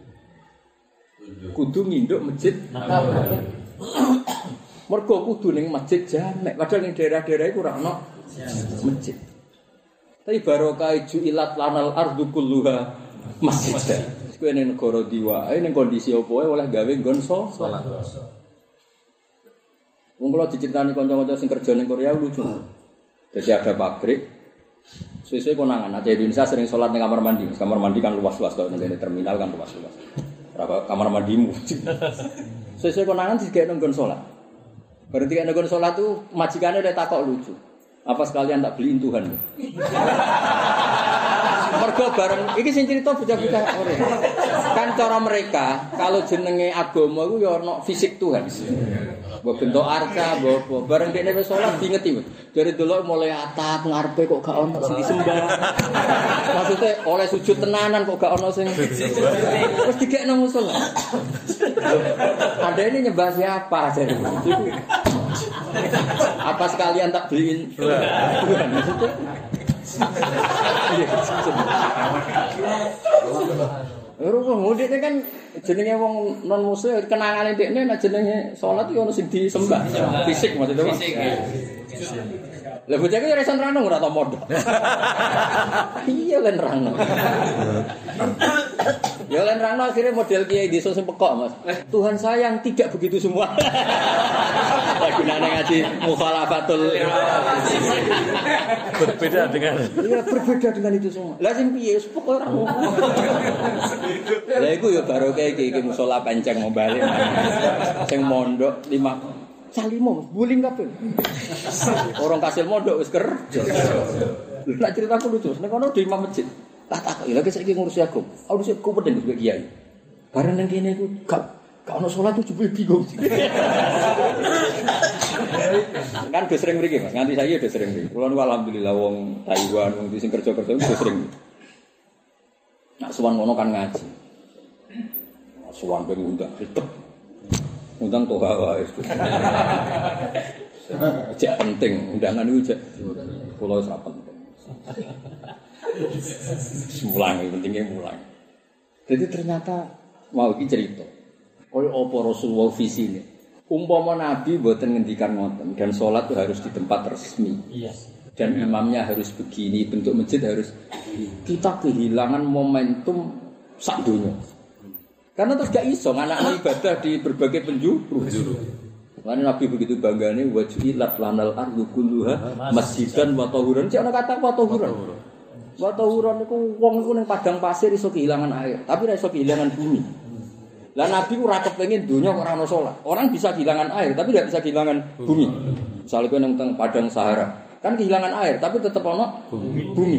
Kudu nginduk Masjid Nabawi. Mergo kudu ning masjid jamek, padahal ning daerah-daerah iku ora ono masjid. Tapi barokah ju'ilat lanal ardu kulluha masjid. Kuwi ning negara diwa, ning kondisi opo oleh gawe nggon salat. Wong kula diceritani kanca-kanca sing kerja ning Korea lucu. Jadi ada pabrik. Suwe-suwe konangan, Aceh Indonesia sering salat ning kamar mandi. Kamar mandi kan luas-luas kalau ning terminal kan luas-luas. Berapa kamar mandimu? Sesuai konangan sih kayak nonggon sholat. Berarti kayak nonggon sholat tuh majikannya udah takok lucu. Apa sekalian tak beliin Tuhan? Mergo bareng. Iki sing cerita bocah-bocah ora. Kan cara mereka kalau jenenge agama iku ya ono fisik Tuhan. Mbok bentuk arca, mbok bareng dekne wis salat dingeti. Dari delok mulai atap ngarepe kok gak ono sing disembah. Maksudnya oleh sujud tenanan kok gak ono sing wis dikekno musala. Ada ini nyembah siapa jadi? Apa sekalian tak beliin? Tuhan maksudnya. Wong mudik kan jenenge wong non muslim kenangane dekne nek jenenge salat yo ono sing disembah. Fisik maksudnya. Fisik. Lah bocah iki ora iso nerangno ora tau modho. Iya kan nerangno. Ya lan nerangno akhire model kiai desa sing pekok, Mas. Tuhan sayang tidak begitu semua. Gunane ngaji mukhalafatul berbeda dengan iya berbeda dengan itu semua. Lah sing piye pokok ora ngono. Lah iku ya baru kayak iki musala panceng mau balik. Sing mondok 5 Salimo, buling kabeh. Orang kasil mondok wis kerja. Lah ceritaku lucu, nek ono di imam masjid. Tak lagi saiki ngurusi aku. Ngurusi aku penting sebagai kiai. Bareng nang kene iku gak Kalau sholat tuh jebul bingung. Kan udah sering mriki, Mas. Nganti saya udah sering mriki. Kulo alhamdulillah wong Taiwan wong sing kerja-kerja udah sering. Nak suwan ngono kan ngaji. Suwan ben undang ribet. Undang toh wae. Cek penting, undangan itu cek. Kulo ora penting. Mulang, pentingnya mulang. Jadi ternyata mau iki cerita. Kaya apa Rasulullah visi ini. Umpama Nabi mboten ngendikan ngoten dan salat itu harus di tempat resmi. Yes. Dan imamnya harus begini, bentuk masjid harus kita kehilangan momentum sak dunia. Karena terus gak iso anak ibadah di berbagai penjuru. Karena Nabi begitu banggane wajilat lanal ardu kulluha masjidan wa tahuran. Cek ana kata wa tahuran. Wa tahuran iku wong iku ning padang pasir iso kehilangan air, tapi ora iso kehilangan bumi. Lah Nabi ku ora kepengin donya kok ora ono salat. Orang bisa kehilangan air tapi tidak bisa kehilangan bumi. Misalnya kowe nang padang Sahara, kan kehilangan air tapi tetap ono bumi.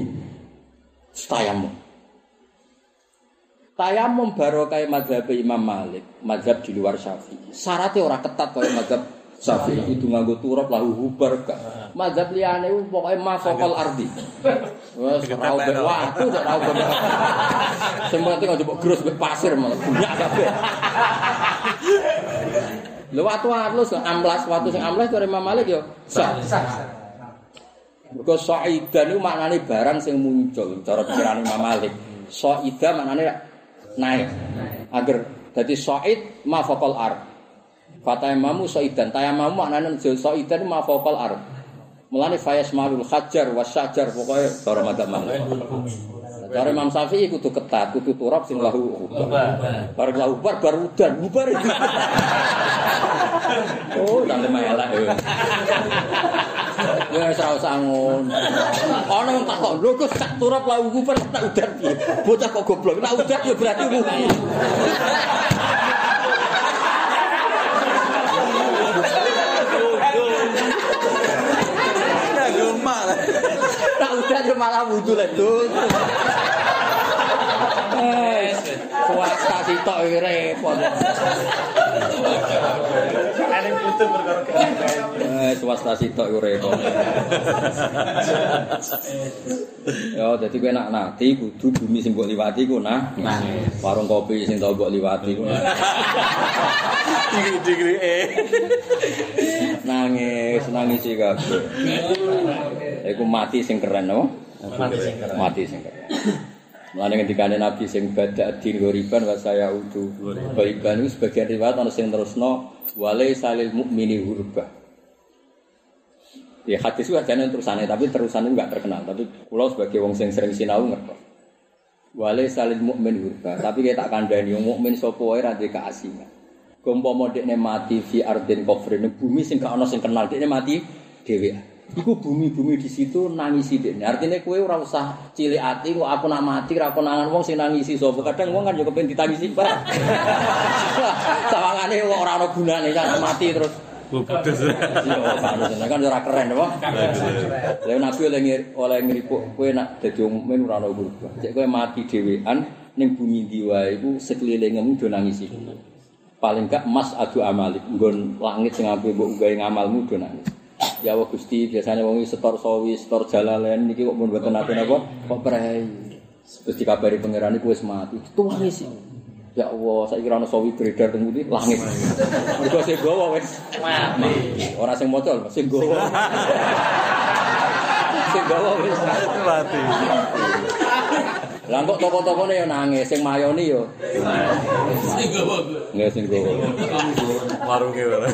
Tayamum barokah mazhab Imam Malik, mazhab di luar Syafi'i. Syaratnya ora ketat kaya mazhab Syafi'i itu nganggo turab lahu hubarkah. Mazhab liyane pokoke mafaqal ardi. Wes ora mbek watu, ora mbek. Sempat kok njupuk grus mbek pasir malah bunyak kabeh. Lha watu-watu amplas, watu sing amplas karo Imam Malik yo sah. Mergo sa'idan iku maknane barang sing muncul cara pikiran Imam Malik. Sa'ida maknane naik. Agar dadi sa'id mafaqal ard. Fatayamamu sa'idan, tayamamu maknane sa'idan mafaqal ard. Mulane fayasmalul hajar wasyajar pokoke cara madzhab Malik. Cara Imam Syafi'i kudu ketat, kudu turab sing lahu ubar. Bareng lahu ubar baru udan, bubar itu. Oh, tak elak ya. Wes ora usah ngono. Ana wong takok, lho kok sak turab lahu ubar tak udan piye? Bocah kok goblok, nek udan ya berarti rugi. Tak udah yo malah wudu lek dul. Swasta sitok iki repot. Eling putu perkara. Swasta sitok iku repot. Yo dadi kowe nak nati kudu bumi sing mbok liwati ku nah. Warung kopi sing tau mbok liwati ku. Digri-digri. Nangis sih kabeh. Iku mati sing keren apa? Mati sing keren. Mulane ngendikane Nabi sing badak din ghoriban wa saya udu. Ghoriban itu sebagian riwayat ana sing terusno wale salil mukmini hurbah. Ya hadis itu ajane terusane tapi terusane enggak terkenal. Tapi kula sebagai wong sing sering sinau ngerti. Wale salil mukmin hurbah. Tapi kayak tak kandhani wong mukmin sapa wae ra duwe keasingan. Gompomo dekne mati fi ardin kofrin bumi sing gak ana sing kenal dekne mati dhewe. Iku bumi-bumi di situ nangisi dekne. Artine kowe ora usah cilik ati kok aku nak mati ra konangan wong sing nangisi sapa. Kadang wong kan yo kepengin ditangisi Pak. Sawangane wong ora ana gunane kan mati terus. Putus. Yo kan ora keren apa? Lah Nabi oleh ngripuk kowe nak dadi wong mukmin ora ana berubah. Cek kowe mati dhewean ning bumi ndi wae iku sekelilingmu do nangisi. Paling gak mas adu amalik nggon langit sing ape mbok gawe ngamalmu do nangis. Ya Allah Gusti biasanya wong setor sawi, setor jalalen niki kok mun mboten nate napa kok prei. Terus dikabari pangeran iku wis mati. Tuwangis. Ya Allah saiki ora ono sawi beredar teng ngendi langit. Mergo sing gowo wis mati. Ora sing maca sing gowo. Sing gowo wis mati. Lah kok toko-tokone yo nangis, sing mayoni yo. Sing gowo. Nggih sing gowo. Warunge wae.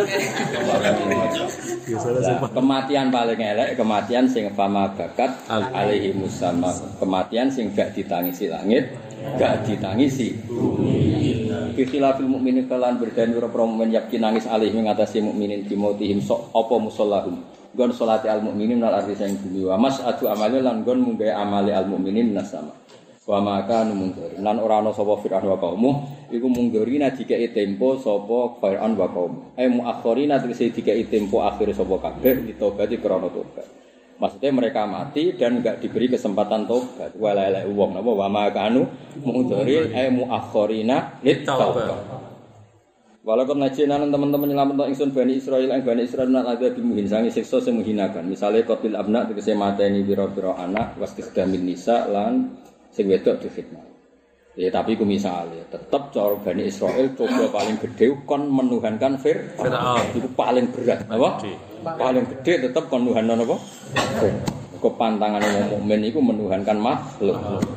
Kematian paling elek, kematian sing fama bakat alaihi musamma. Kematian sing gak ditangisi langit, gak ditangisi bumi. Fi khilafil mukminin kalan berdani ora mukmin yakin nangis alaihi ngatasi mukminin dimotihim sok apa musallahum. Gon salati al mukminin nal arti sing bumi wa mas adu amale lan gon munggae amale al mukminin nasama. Wa maka numungkir lan ora ana sapa fir'aun wa kaummu iku munggirina dikeki tempo sapa fir'aun wa kaum muakhirina dikeki tempo akhir sapa kabeh ditobati krana tobat maksudnya mereka mati dan enggak diberi kesempatan tobat walalae wong napa wa maka munggiri muakhirina litaubat Walaupun najinan teman-teman nyelametno ingsun Bani Israil lan Bani Israil nang ada bimuhin sangi siksa sing menghinakan. Misale qatil abna tegese mateni pira-pira anak wastisdamin nisa lan sing wedok difitnah. Ya tapi ku misale tetep cara Bani Israil coba paling gede kon menuhankan Fir'aun. Itu paling berat, apa? Paling gede tetep kon nuhanno napa? Kok pantangane wong mukmin iku menuhankan makhluk.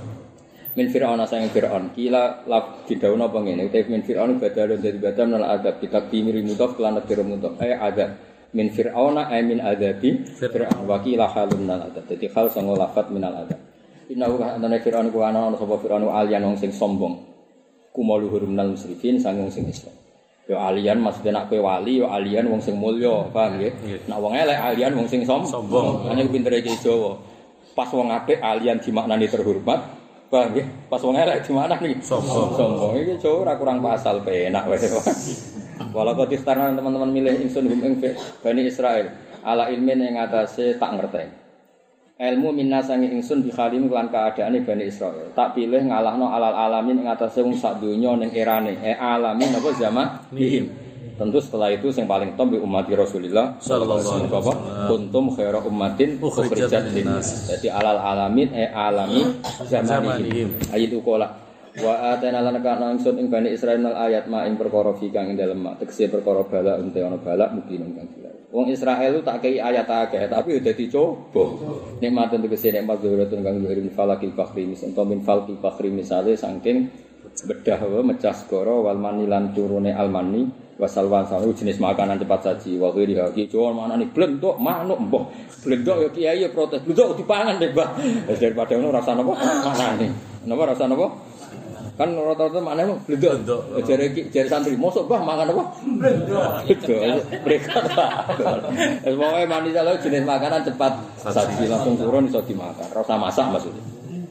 Min Fir'aun asang Fir'aun kila laf didhawuhna apa ngene uta min Fir'aun badal dadi badal nal adab kita timiri mudhaf kelan adab mudhaf adab min Fir'aun min adabi Fir'aun wa kila halun nal adab dadi hal sanga lafat minal adab innahu kana Fir'aun ku ana sapa Fir'aun alian wong sing sombong kumaluhur minal musrifin sanging sing Islam yo alian maksudnya nak kowe wali yo alian wong sing mulya paham nggih nak wong elek alian wong sing sombong hanya pintere iki Jawa pas wong apik alian dimaknani terhormat. Paham nggih? Pas wong elek di mana nih? Sombong. Iki cuk ora kurang pasal penak wae. Walau kok istarna teman-teman milih ingsun ing Bani Israil ala ilmin ing atase tak ngerteni. Ilmu minna sange ingsun bi khalim lan keadaane Bani Israil. Tak pilih ngalahno alal alamin ing atase wong sak donya ning erane. Alamin apa zaman nihim. Tentu setelah itu yang paling top di umat Rasulullah sallallahu alaihi wasallam kuntum khairu ummatin ukhrijat linnas. Jadi alal alamin alami zamanihim. Ayat ukola wa atana lan kana ingsun ing Bani Israil ayat ma ing perkara fi kang ing dalem tegese perkara bala unte ana bala mungkin kang jelas. Wong Israel tak kei ayat akeh tapi udah dicoba. Nikmat tegese nikmat zuhuratun kang zuhurin falakil fakhri misal min falqil fakhri misale saking bedah mecah segara wal manilan turune almani wasalwan sawu jenis makanan cepat saji wa khiri iki cowok manane blendok manuk mbah blendok ya kiai ya protes blendok dipangan deh Mbah daripada ngono rasa napa manane napa rasa napa kan rata-rata manane blendok jare santri mosok Mbah mangan apa blendok mereka pokoke manis lho jenis makanan cepat saji langsung turun iso dimakan rasa masak maksudnya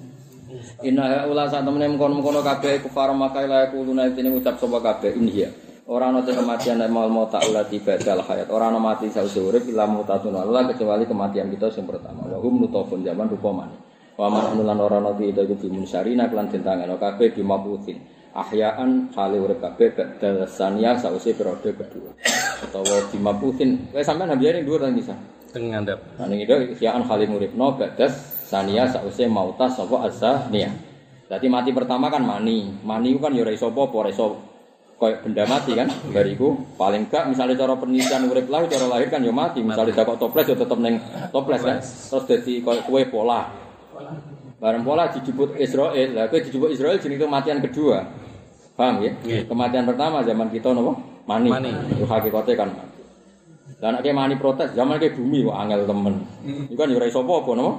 inna ula sak temene mengkono-mengkono kabeh kufar makai la kuluna dene ngucap sapa kabeh inhiya ora ana kematian nek mau ta'ala tibadal hayat ora ana mati sausé urip ila mutatun Allah kecuali kematian kita sing pertama wa hum nutafun zaman rupa mani wa man lan ora ana itu bimun syarina kelan dentangeno kabeh dimaputin ahyaan hale urip kabeh badal sania sausé periode kedua utawa dimaputin wis sampean ambiyane dhuwur nang bisa teng ngandhap ning itu ahyaan hale uripno badas sania sausé mautas sapa azania dadi mati pertama kan mani itu kan ya ora iso apa-apa ora iso koyo benda mati kan bariku paling gak misalnya cara penelitian urip lahir cara lahir kan ya mati misalnya dakok toples ya tetep ning toples kan terus dadi koyo kue pola bareng pola dijupuk Israel lah kowe dijupuk Israel jenenge kematian kedua paham ya kematian pertama zaman kita napa mani itu hakikate kan mati lan nek mani protes zaman ke bumi kok angel temen iku kan ya ora iso apa-apa napa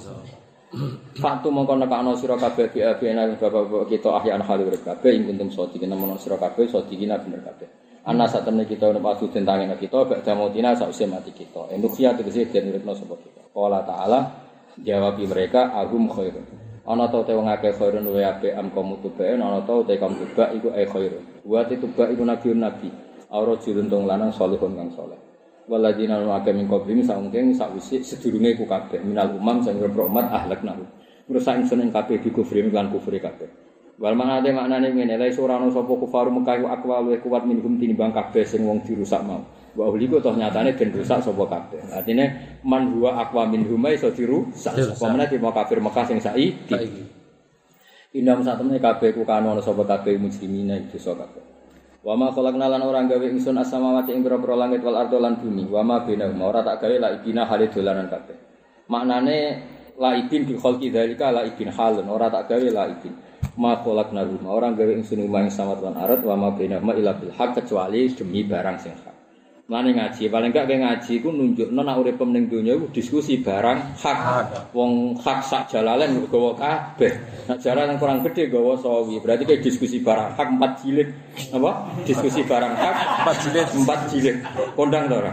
Faktu mongko nekakno sira kabeh bi'abina bapak kita ahyan hali urip kabeh ing kuntum sadiqin menawa sira kabeh sadiqina bener kabeh. Ana sak temne kita ono padu dentange kita bak damotina sausé mati kita. Endukhia tegese den uripno sapa kita. Qala ta'ala jawabi mereka agum khairun. Ana ta te wong akeh khairun wa apik am kaum tubaen ana ta te kaum tubak iku khairun. Wa te tubak iku nabi. Aura jirun tong lanang salihun kang saleh. Waladina nu'ake min qablim saungkeng sakwisi sedurunge ku kabeh minal umam sing rahmat ahlakna. Ngrusak ingsun ing kabeh di kufri lan kufri kabeh. Wal manate maknane ngene la ora ana sapa kufaru Mekah akwa luwih kuat minhum tinimbang kabeh sing wong dirusak mau. Wa uliku toh nyatane den rusak sapa kabeh. Artine man huwa akwa minhum iso dirusak. Apa meneh timo kafir Mekah sing saiki. Indam satemene kabeh ku kanu ana sapa kabeh mujrimina dosa kabeh. Wa ma khalaqna lan ora gawe ingsun as-samawati ing pira-pira langit wal ardo lan bumi. Wa ma bainahuma ora tak gawe laibina hale dolanan kabeh. Maknane laibin bi khalqi dzalika laibin halun ora tak gawe laibin. Ma khalaqna ora gawe ingsun ing samawati lan ardh wa ma bainahuma illa bil haqq kecuali demi barang sing hak. Mane ngaji, paling gak ke ngaji ku nunjukno nek urip ning donya iku diskusi barang hak. Wong hak sak jalalen gawa kabeh. Nek jalan kurang gede gawa sawi. Berarti ke diskusi barang hak 4 jilid. Apa? Diskusi barang hak 4 jilid. Kondang to ora?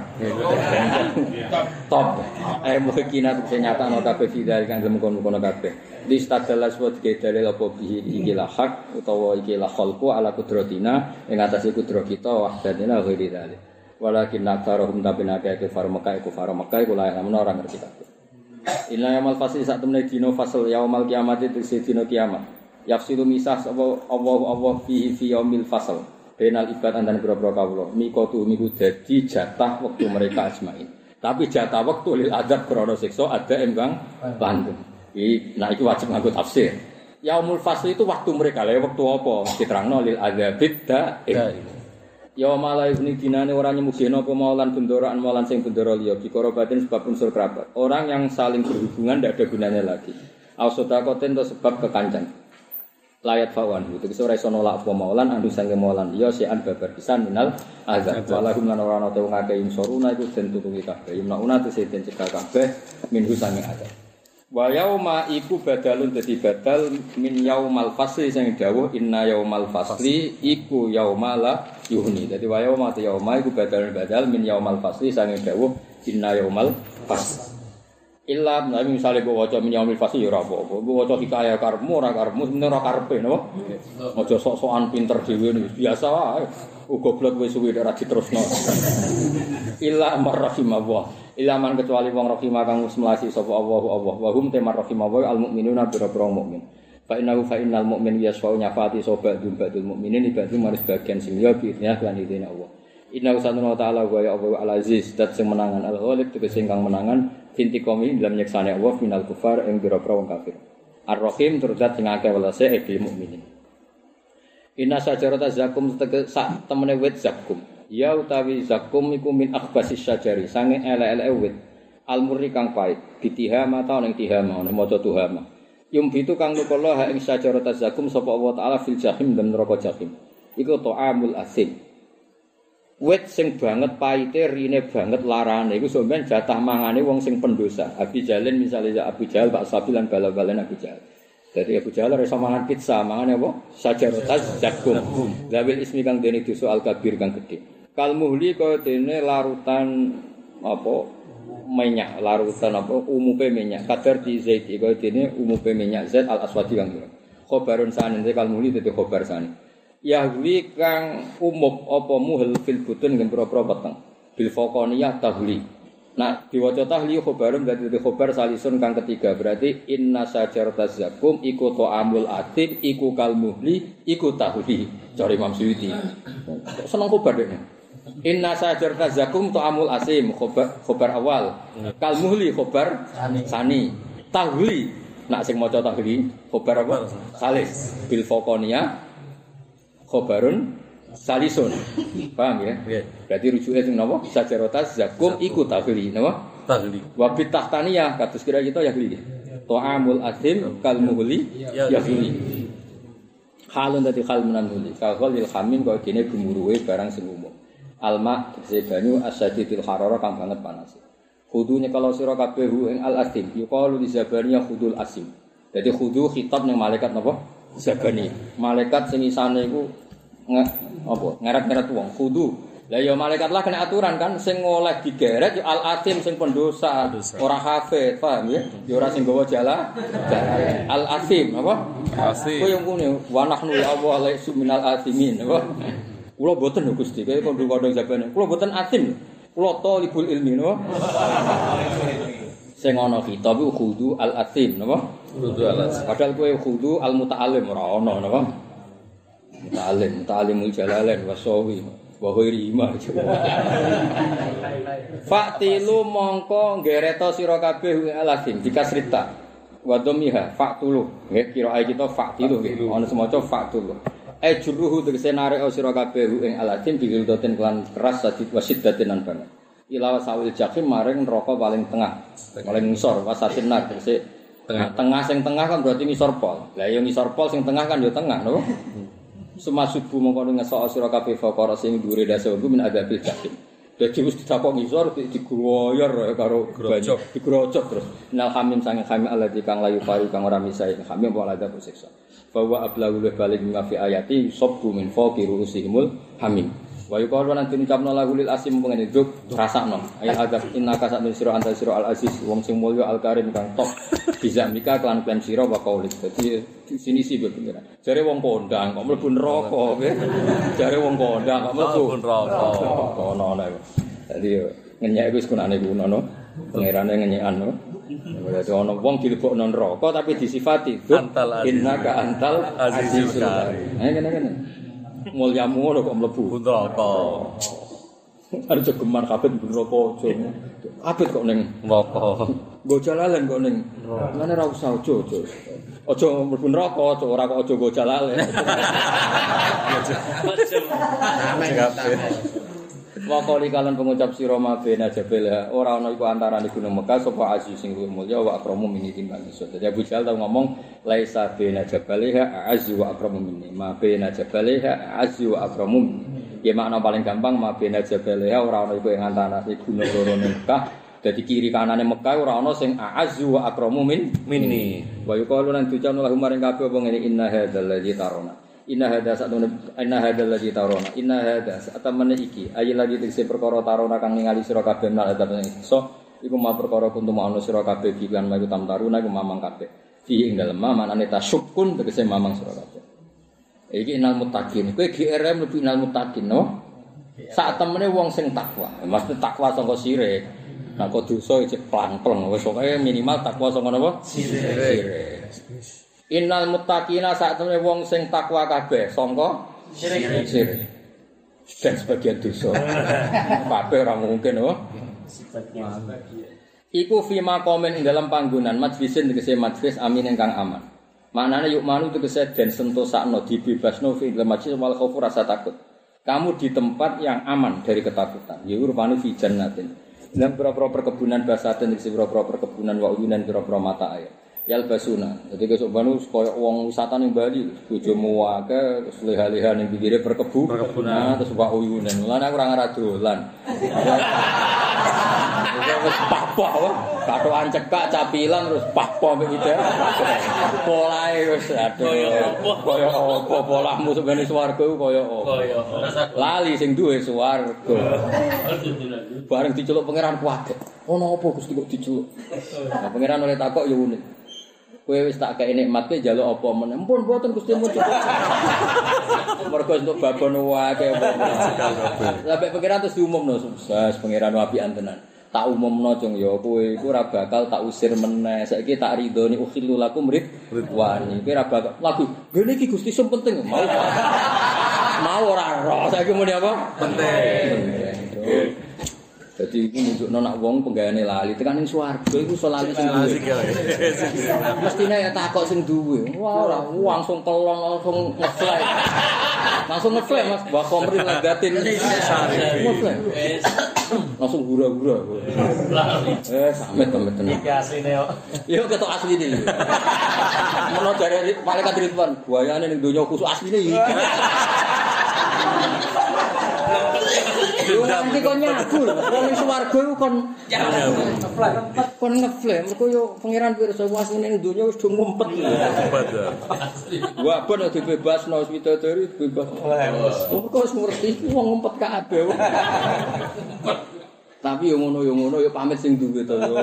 Top. Mungkinat sing nyatano kabeh vidal kang kono kabeh. Listadalas wa dalil apa bihi iki la hak utawa iki la khalqu ala qudratina ing atase kudrat kita wahdatina ghairi dalil. Walakin naktarohum tabinake kufar Mekah kula lamun ora ngerti kabeh. Inna yaumul fasl sak temene dina fasl yaumul kiamat itu dina kiamat. Yafsilu misah sapa Allah fihi fi yaumil fasl. Benal ibad antara pira-pira kawula. Mikotu niku dadi jatah wektu mereka ajmain. Tapi jatah wektu lil adab krana siksa ada engkang langgeng. Nah itu wajib nganggo tafsir. Yaumul fasl itu waktu mereka. Lah waktu apa? Diterangno lil adzabid daim. Yauma la yughni dinane ora nyemugeno apa maulan bendaraan maulan sing bendara liya bikorobatin sebab unsur kerabat. Orang yang saling berhubungan tidak ada gunanya lagi. Ausodakoten to sebab kekancan. Layat fawan itu ora iso nolak apa maulan andu sange maulan ya sean babar pisan minal azab walahum lan ora ana te wong akeh insoruna iku den tutupi kabeh yumnauna te den cekal kabeh minhu sange azab wa yauma iku badalun dadi badal min yaumal fasli sing dawuh inna yaumal fasli iku yaumala yuhni dadi wa yauma te yauma iku badal min yaumal fasli sing dawuh inna yaumal fasli illa nabi misale mbok waca min yaumil fasli ya ora apa-apa mbok waca hikayah karepmu ora karepmu sebenarnya ora karepe napa aja sok-sokan pinter dhewe biasa wae goblok wis suwi ora diterusno illa marrahimah illa man kecuali wong rahimah kang melasi sapa Allah wa hum temar rahimah al mukminuna bira-bira mukmin fa innal mu'min yasfa'u nyafati sobat dumbatul mukminin ibadu maris bagian sing liya bi idznillah lan idine Allah inna usanna ta'ala wa ya Allah al-aziz dat sing menangan al-ghalib tegese kang menangan inti komi dalam nyeksane Allah minal kufar ing bira-bira wong kafir. Ar-Rahim turut sing akeh welase bil mukminin. Inna sajarata zakum sak temene wit zakum. Ya utawi zakum iku min akhbasis syajari sange ele-ele wit. Al-murri kang pait bitihama ta ning tihama ana maca tuhama. Yumbitu kang nukola ha ing sajarata zakum sapa Allah taala fil jahim dan neraka jahim. Iku ta'amul asim. Wit sing banget paite rine banget larane iku sampeyan jatah mangane wong sing pendosa. Abi Jalin misalnya Abu Jahal Pak Sabilan bala-balan Abu Jahal. Jadi Abu Jahal ora iso mangan pizza, mangane apa? Sajarotaz zakum. Labil ismi kang dene dosa al-kabir kang gedhe. Kal muhli kaya dene larutan apa minyak, larutan apa umupe minyak. Kadar di zait kaya dene umupe minyak zait al-aswadi kang. Khobarun sanen kal muhli dadi khobar sanen. Yahwi kang umup apa muhel fil butun ngen pro-pro peteng bil faqaniyah tahli. Nah diwaca tahli khobarum berarti khobar salisun kang ketiga berarti inna sajarataz zakum iku ta'amul atim iku kal muhli iku tahli. Cari Imam Suyuti. Seneng khobar dene. Inna sajarataz zakum ta'amul asim khobar awal. Kal muhli khobar sani. Tahli. Nak sing maca tahli khobar apa? Salis bil faqaniyah khobarun salisun. Paham ya? Berarti rujuknya sing napa? Sajarotas zakum iku tahli, napa? Tahli. Wa bitahtaniyah kados kira kita yahli. Ta'amul asim kal muhli yahli. Halun dadi hal menan muhli. Kal hamim kaya dene gemuruhe barang sing umum. Alma tegese banyu asyadidil harara kang banget panas. Khudu nyekalo sira kabeh ing al asim. Yuqalu li zabaniyah khudul asim. Dadi khudu khitab ning malaikat napa? Zabani. Malaikat sing isane iku apa? Ngeret-ngeret wong kudu. Lah ya malaikat lah kena aturan kan sing oleh digeret ya al-atim sing pendosa, ora hafid, paham ya? Ya ora sing gawa jala. Al-atim apa? Asim. Kowe yang ngene, wa nahnu ya Allah la suminal atimin, apa? Kula boten Gusti, kaya kondong-kondong zabane. Kula boten atim. Kula talibul ilmi, napa? Sing ana kitab iku khudu al-atim, napa? Khudu al-atim. Padahal kowe khudu al-muta'allim ora ana, napa? Muta'allimul jalalain wasawi wa ghairi ma. Fa'tilu mongko nggereto sira kabeh al-atim dikasrita. Wa dhamiha fa'tulu. Nggih kira kita fa'tilu nggih. Ana semaca fa'tulu. Juruhu tegese narik sira kabeh ing al-atim digildoten kelan keras sadid wasiddatin nan banget. Ilawa sawil jahim maring neraka paling tengah, paling ngisor wasatin nar tegese tengah sing tengah kan berarti ngisor pol. Lah ya ngisor pol sing tengah kan ya tengah lho. Sumasubu mongko ngesok sira kabeh fakara sing dhuwure dasa min adabil jahim. Dadi wis ditakok ngisor digroyor karo banyu digrocok terus. Nal hamim sange hamim alladzi kang layu pari kang ora misae hamim apa ada siksa. Bahwa ablaghul balik fi ayati sabbu min fawqi ru'usimul hamim. Wa yuqalu lan diucapno lagu lil asim pengene juk rasakno ayat adab innaka sak sira anta sira al aziz wong sing mulya al karim kang top bisa mika kelan plan sira wa qaulik dadi sini sih bener jare wong kondang kok mlebu neraka jare wong kondang kok mlebu neraka kono ana dadi ngenyek wis kunane kuno no pangerane ngenyekan no dadi ana wong dilebokno neraka tapi disifati innaka antal azizul karim ngene-ngene mulyamu ngono kok mlebu. Neraka. Arep geman kabeh neraka aja. Abet kok ning Neraka. nggo jalalan kok ning. Ngene ora usah aja. Aja mlebu neraka, ora kok aja nggo jalalan. Wakali kalian pengucap sira mabena jabal ora ana iku antarané gunung Mekah sapa aziz sing luwih mulya wa akramu min timbang iso. Dadi Abu Jahal tau ngomong laisa bena jabaliha azzi wa akramu minni. Mabena jabaliha azzi wa akramu minni. Ya makna paling gampang mabena jabaliha ora ana iku ing antarané gunung loro Mekah. Dadi kiri kanane Mekah ora ana sing azzi wa akramu minni. Wa yuqalu lan ducana lahum maring kabeh apa ngene inna hadzal ladzi tarona. Inna hadzal ladzi tarona inna hadza satamane iki ayil ladzi tegese perkara tarona kang ningali sira kabeh nal adab sing iso iku ma perkara kuntum ana sira kabeh bilan mayu tam taruna iku mamang kabeh fi ing dalem manane tasyukun tegese mamang sira kabeh iki inal muttaqin kowe GRM lebih inal muttaqin no sak temene wong sing takwa mesti takwa saka sirik nek kok dosa iki plang-plang wis pokoke minimal takwa saka napa sirik Innal muttaqina sak temene wong sing takwa kabeh sangka sirik. Dan sebagian dosa. Kabeh ora mungkin oh. Iku fi maqamin ing dalam panggonan majlisin tegese majlis amin ingkang aman. Maknane yuk manu tegese den sentosakno dibebasno fi dalam majlis wal khaufu rasa takut. Kamu di tempat yang aman dari ketakutan. Ya rupane fi jannatin. Dalam pira-pira perkebunan basaten tegese pira-pira perkebunan wa uyunan pira-pira mata air. Yal basuna. Jadi besok banu koyo wong wisata ning Bali, bojomu wae terus leha-leha ning pinggire perkebunan terus wa uyunan. Lan aku ora ngarah dolan. Wis pah-pah wae. Katokan cekak capilan terus pah-pah mbek ide. Polahe wis aduh. Koyo apa polahmu sampeyan swarga iku koyo apa. Lali sing duwe swarga. Bareng diceluk pangeran kuwate. Ono apa Gusti kok diceluk? Nah pangeran oleh takok ya unik. Kowe wis tak kei nikmat ke njaluk apa men. Ampun mboten Gusti mun cukup. Mergo entuk babon wae apa. Lah mek pangeran terus diumumno sukses pangeran apian tenan. Tak umumno cung ya kowe iku ora bakal tak usir meneh. Saiki tak ridhoni ukhillu lakum ridwani. Kowe ora bakal lagu. Ngene iki Gusti sing penting mau. Mau ora ro. Saiki muni apa? Penting. Jadi ini nunjukno nak wong penggaweane lali tekan ning swarga iku iso lali sing duwe. Mestine ya takok sing duwe. Wah ora langsung kelon langsung ngefly. Langsung ngefly Mas, Mbah Komri ladatin. Langsung gura-gura. Samet-samet tenan. Iki asline kok. Yo ketok asline. Menawa dari malaikat Ridwan, buayane ning donya khusuk asline iki. Yo nanti kon nyabu lho, wong swarga iku kon ngeflame, mergo yo pangeran pirsa wasine ning donya wis do ngumpet. Wah, ben dibebasno widodari bebas. Mergo wis ngerti wong ngumpet kabeh. Tapi yo ngono yo pamit sing duwe to yo.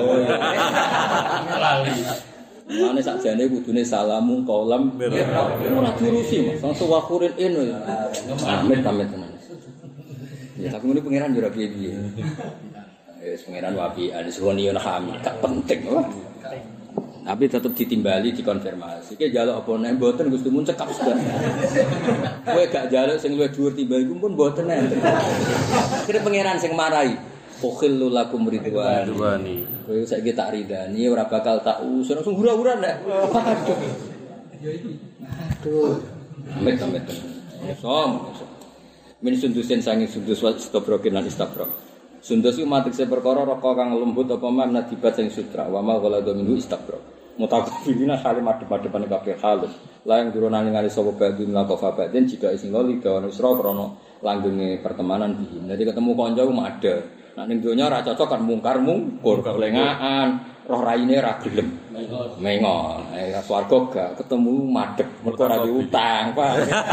Mane sakjane kudune salamu kaulam ora diurusi Mas, langsung wakurin eno ya. Amit tenan. Ya tapi ngene pangeran yo ora piye-piye. Wis pangeran wapi alisuni yo hamil, gak penting wae. Tapi tetep ditimbali dikonfirmasi. Iki njaluk apa nek mboten Gusti mun cekap sudah. Kowe gak njaluk sing luwih dhuwur timbang iku pun mboten enten. Kira pangeran sing marahi. Ukhillu lakum ridwani. Kowe saiki tak ridani ora bakal tak usir langsung hura-hura nek. Aduh. Amit. Min sundusin sangi sundus istabrokin lan istabro. Sundus iku matekse perkara raka kang lembut apa man nadibat sing sutra wa ma ghaladu minhu istabro. Mutakafirina salim adep-adepane kabeh halus. La yang durung ningali sapa badhe mlakofa badhe jika sing lali dawan isra krana langgenge pertemanan bihi. Dadi ketemu kanca ku ada. Nek ning donya ora cocok kan mungkar-mungkur, kelengaan, roh raine ra gelem. Mengon. Swarga gak ketemu madhep, mergo ora diutang, Pak.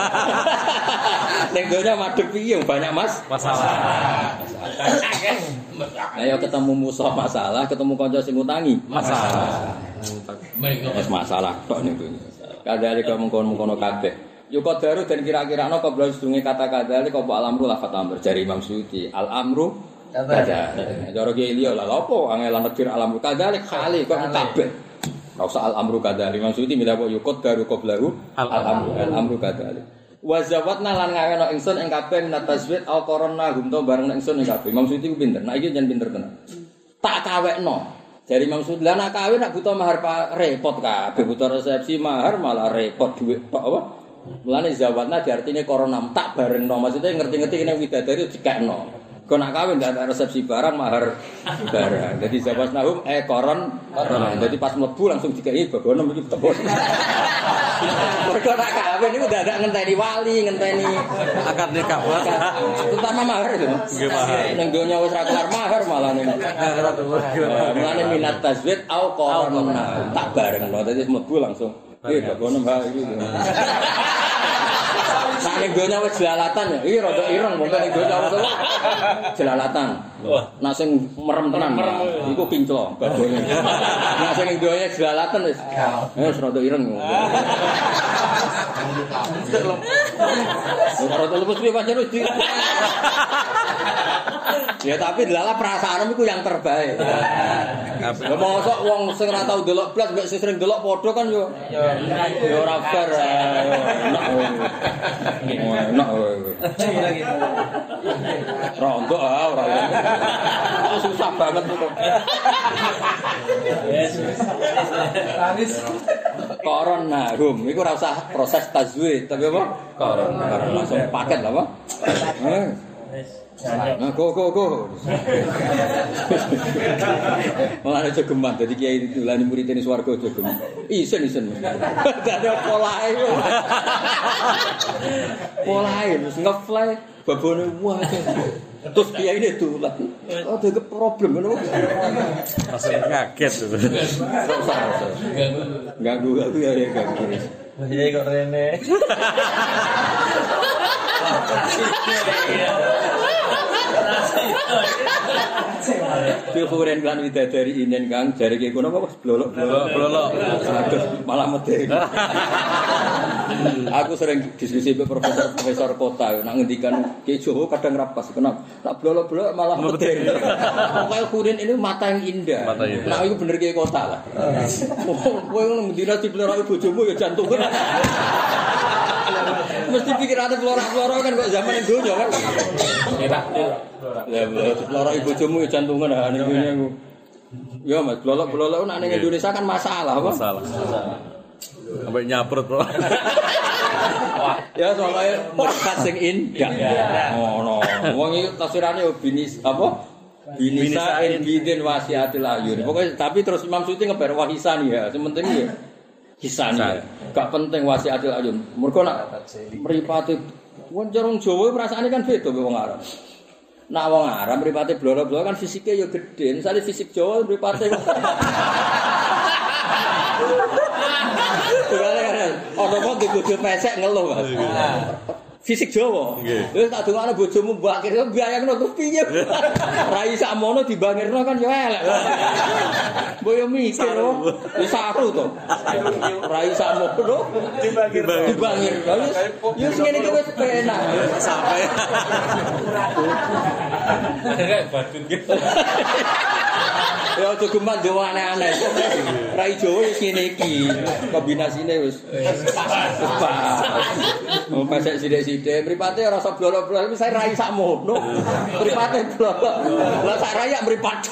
Ning donya madhep piye banyak masalah. Ayo ketemu musuh masalah, ketemu kanca sing ngutangi masalah. Wis masalah tok ning donya. Kadare mengkon-mengkono kabeh. Yo qadaru dan kira-kira ana koblo sedunge kata-kata iki kok al-amru lafat amr jari Imam Suyuti. Al-amru kada. Cara ki liya lha opo angelan negir al-amru kadalik khali kok kabeh. Ora usah al-amru kadalik. Imam Suyuti milih kok yo qadaru qoblahu al-amru kadalik. Wa zawatna lan ngaweno ingsun ing kabeh minat taswid au korona gumto bareng ingsun ing kabeh. Imam Suyuti ku pinter. Nah iki jan pinter tenan. Tak kawekno. Dari Imam Suyuti lah nak kawin nak butuh mahar repot kabeh, butuh resepsi mahar malah repot duit tok apa. Mulane zawatna diartine korona tak barengno. Maksudnya ngerti-ngerti kene widadari dikekno. Kau nak kawin tidak ada resepsi barang mahar barang. Jadi zawat nahum koron. Jadi pas mlebu langsung dikai bagono iki tebon. Mergo nak kawin itu udah ada ngenteni wali, ngenteni akad nikah. Terutama mahar itu. Nggih mahar. Ning donya wis ra kelar mahar malah ning. Mulane minat tazwid au koron tak barengno. Dadi mlebu langsung bagono mbak iki. Nah ning donya wis jelalatan ya. Iki rada ireng wong ning donya wis jelalatan. Nah sing merem tenan iku kinclo babone. Nah sing ning donya jelalatan wis rada ireng. Rada lemes piye pancen wis. Ya tapi delala perasaanmu iku yang terbaik. Ya mosok wong sing ora tau delok blas mbek sing sering delok padha kan yo ora fair. Enak rontok ora susah banget itu. Corona hum iku ora usah proses tazwid tapi apa? Corona langsung paket apa? Nah, go. Malah aja geman dadi kiai ditulani murid ini swarga aja geman. Isen. Dadi polahe. Polahe wis ngefly babone wah. Terus kiai ini tulan. Oh, ada problem ngono. Langsung kaget itu. Ganggu ya ganggu. Kiai kok rene. Diukurin kan widadari inen Kang jare ki kono apa blolok. Aduh malah medhe. Aku sering diskusi dengan profesor kota nak ngendikan Ki Jowo kadang rapas kenapa tak blolok-blolok malah medhe. Pokoke kurin ini mata yang indah. Nah iku bener Ki kota lah. Kowe ngendina dipelorok bojomu ya jantungan. Mesti pikirane pelorok-pelorok kan kok zaman donya kan. Ya pelorok bojomu ya jantungan ha ning dunya aku. Ya Mas, pelorok-pelorok nek ning Indonesia kan masalah apa? Masalah. Sampai nyaprut, Bro. Ya soalnya merikat sing indah. Ngono. Wong iki tafsirane binis apa? Binisa bidin wasiatil ayun. Pokoke tapi terus Imam Suyuti ngebar wahisani ya. Sementing ya hisani. Gak penting wasiatil ayun. Mergo nak mripate wong jarung Jawa perasaane kan beda mbek wong Arab. Nak wong Arab mripate bloro-bloro kan fisike ya gedhe. Misale fisik Jawa mripate ono kok dibojo pesek ngeluh Mas. Fisik Jawa. Wis tak dongakno bojomu mbak kira mbayangno terus piye. Rai sakmono dibangirno kan yo elek. Mbok yo mikir wis saru to. Rai sakmono dibangirno. Yo sing ngene iki wis penak. Sampai. Kayak badun gitu. Ya aja geman dewe aneh-aneh. Rai Jawa wis ngene iki. Kombinasine wis pas. Pesek sithik-sithik, mripate ora rasa blolo-blolo, wis rai sakmono. Mripate blolo. Lah sak rayak mripat.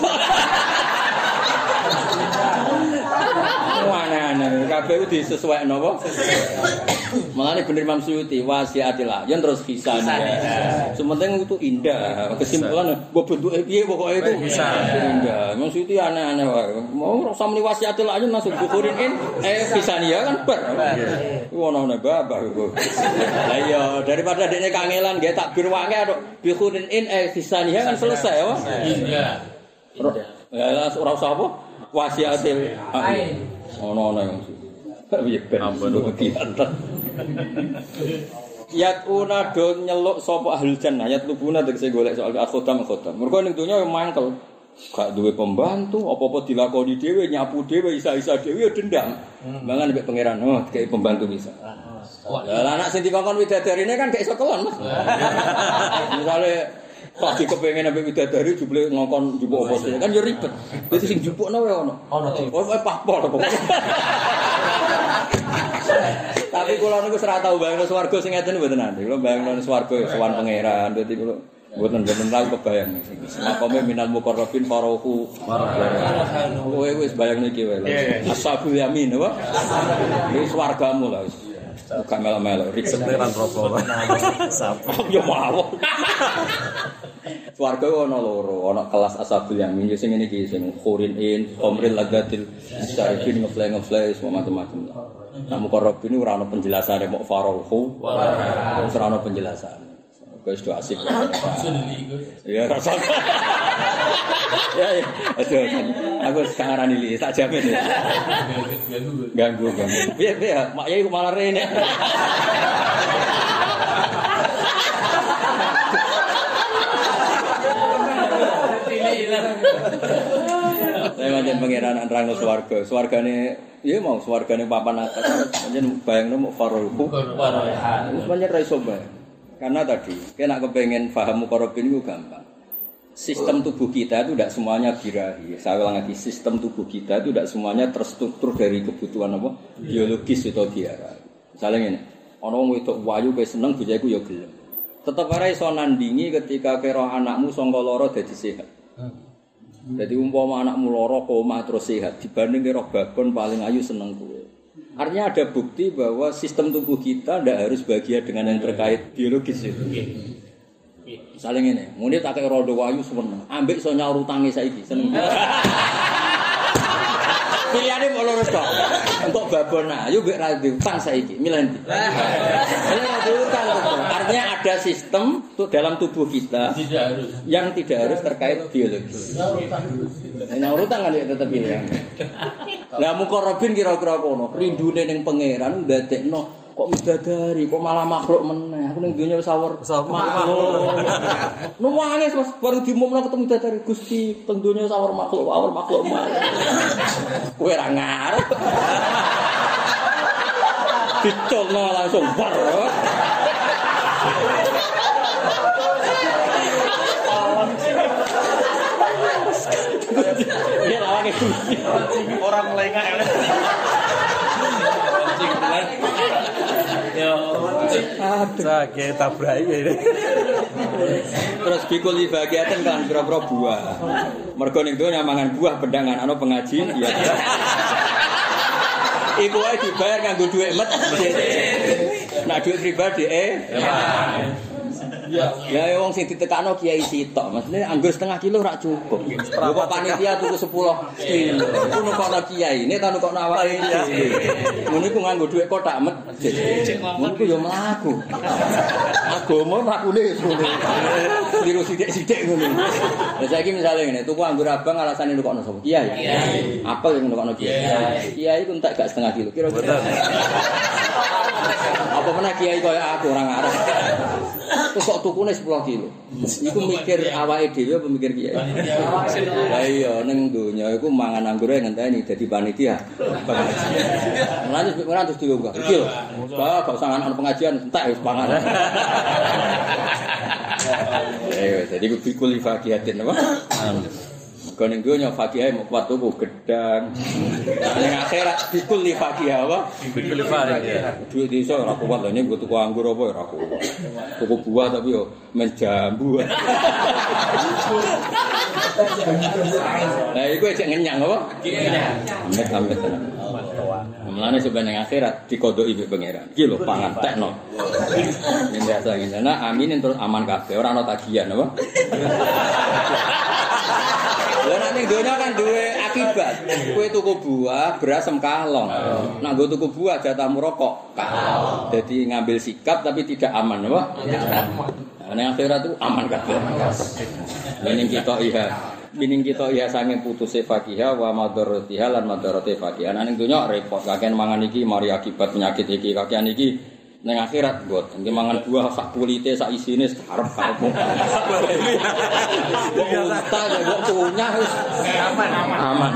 Aneh-aneh, kabeh ku disesuaikno apa? Mulane bener Imam Suyuti wasiatil ayun terus hisani. Sementing itu indah. Kesimpulan mbok bentuke piye pokoke itu bisa indah. Imam Suyuti aneh-aneh wae. Mau rasa muni wasiatil ayun langsung bukurin hisani ya kan ber. Ono-ono babah iku. Lah iya daripada dekne kangelan nggih takbir wae atuk bukurin hisani kan selesai ya. Indah. Ya ora usah apa? Wasiatil ayun. Ono yang ampun Yatuna do nyeluk sapa ahlul jannah yatlubuna tegese golek soal akhodam. Mergo ning donya yo mangkel. Gak duwe pembantu, apa-apa dilakoni dhewe, nyapu dhewe, isa-isa dhewe yo dendam. Mangan mbek pangeran, oh dikei pembantu bisa. Lah anak sing dikongkon widadarine kan gak iso kelon, Mas. Misale pagi kepengin ambek widadari jebule ngongkon njupuk apa sih kan yo ribet. Dadi sing njupukno wae ono. Oh papol pokoke. Tapi kula niku ora tau bayangno swarga sing ngeten mboten nate. Kula bayangno swarga ya sowan pangeran. Dadi kula mboten tau kebayang. Makome minal muqarrabin farohu. Kowe wis bayangno iki wae. Ashabul yamin apa? Iki swargamu lah wis. Bukan melo-melo, Seteran rokok. Sapa? ya mawon. Swarga ana loro, ana kelas ashabul yamin sing ngene iki sing khurin in, qamril ladatil syarifin ngefle semua macam-macam. Namun korobin ora ana penjelasane mok farohu. Ora ana penjelasan. Wis do asik. Ya rasa. Ya. Aduh. Aku sekarang ini tak jamin ya. Ganggu. Piye mak yai malah rene. Saya macam pangeran nerangno swarga. Swargane ya mau swargane papan atas. Pancen bayangno mau farohu. Wis pancen ra iso bayang. Karena tadi, kena kepengen paham muqarrabin itu gampang. Sistem tubuh kita itu tidak semuanya birahi. Saya ulang lagi, sistem tubuh kita itu tidak semuanya terstruktur dari kebutuhan apa? Biologis atau biara. Misalnya ini, orang wedok wayu kayak seneng bojoku ya gelem. Tetap ora iso nandingi ketika kira anakmu sangka lara dadi sehat. Jadi umpama anakmu lara koma terus sehat dibanding kira babon paling ayu seneng kowe. Artinya ada bukti bahwa sistem tubuh kita tidak harus bahagia dengan yang terkait biologis itu. Misalnya ini, muni tak kayak rodo wayu seneng, ambek so nyaur utangi saiki seneng. Pilihannya mau lurus kok. Untuk babon ayu mbek ra utang saiki, milih ndi? Milih utang. Artinya ada sistem dalam tubuh kita yang tidak harus terkait biologis. Nyaur utang kan ya tetep pilihan. Lah muqarrabin kira-kira kono, rindune ning pangeran ndadekno kok midadari, kok malah makhluk meneh. Aku ning donya wis sawur makhluk. Nangis Mas baru diumumno ketemu midadari Gusti, teng donya sawur makhluk mah. Kowe ra ngarep. Dicolno langsung bar. Dia lawange Gusti. Orang lengah. Yo. Sakit tabraki ini. Terus bikul bagiatan kan pira-pira buah. Mergo ning donya mangan buah bendangan ana pengaji ya. Iku wae dibayar nganggo dhuwit masjid. Nah dhuwit pribadi Ya wong sing ditekakno kiai sitok, maksudnya anggur setengah kilo rak cukup. Kok panitia tuku 10 kilo. Ku nukokno kiai, ini ta nukokno awake dhewe. Ngono iku nganggo dhuwit kotak masjid. Ngono iku yo mlaku. Agama lakune ngono. Liru sithik-sithik ngono. Lah saiki misale ngene, tuku anggur abang alasane nukokno sapa? Kiai. Apel yang nukokno kiai. Kiai ku entek gak setengah kilo. Kira-kira. Apa meneh kiai koyo aku ora ngarep. Terus kok tukune 10 kilo. Iku mikir awake dhewe apa mikir kiai? Lah iya ning donya iku mangan anggure ngenteni dadi panitia. Lanjut ora terus dilungguh. Iki lho. Gak usah ana pengajian entek wis pangan. Jadi iku bikul fakihatin apa? Kau ning donya fakihah mau kuat tuku gedang. Ning akhirat bikul fakihah apa? Bikul fakihah. Duit iso ora kuat lha ning tuku anggur apa ora kuat. Tuku buah tapi yo menjambu. Lah iku cek ngenyang apa? Amit-amit. Mulane sebenarnya akhirat dikodoki mbek pangeran. Iki lho pangan tekno. Yen biasa ngene. Nah aminin terus aman kabeh ora ana tagihan apa? Lah nek ning donya kan duwe akibat. Kowe tuku buah, beras kalong. Nek nggo tuku buah jatahmu rokok. Dadi ngambil sikap tapi tidak aman apa? Nek akhirat itu aman kabeh. Ning kita iya sange putuse fakihah wa madaratiha lan madarate fakihah. Ning donya repot kakean mangan iki mari akibat penyakit iki kakean iki. Neng akhirat buat, nggih mangan buah sak kulite sak isine karep kamu. Kita ya punya wis aman.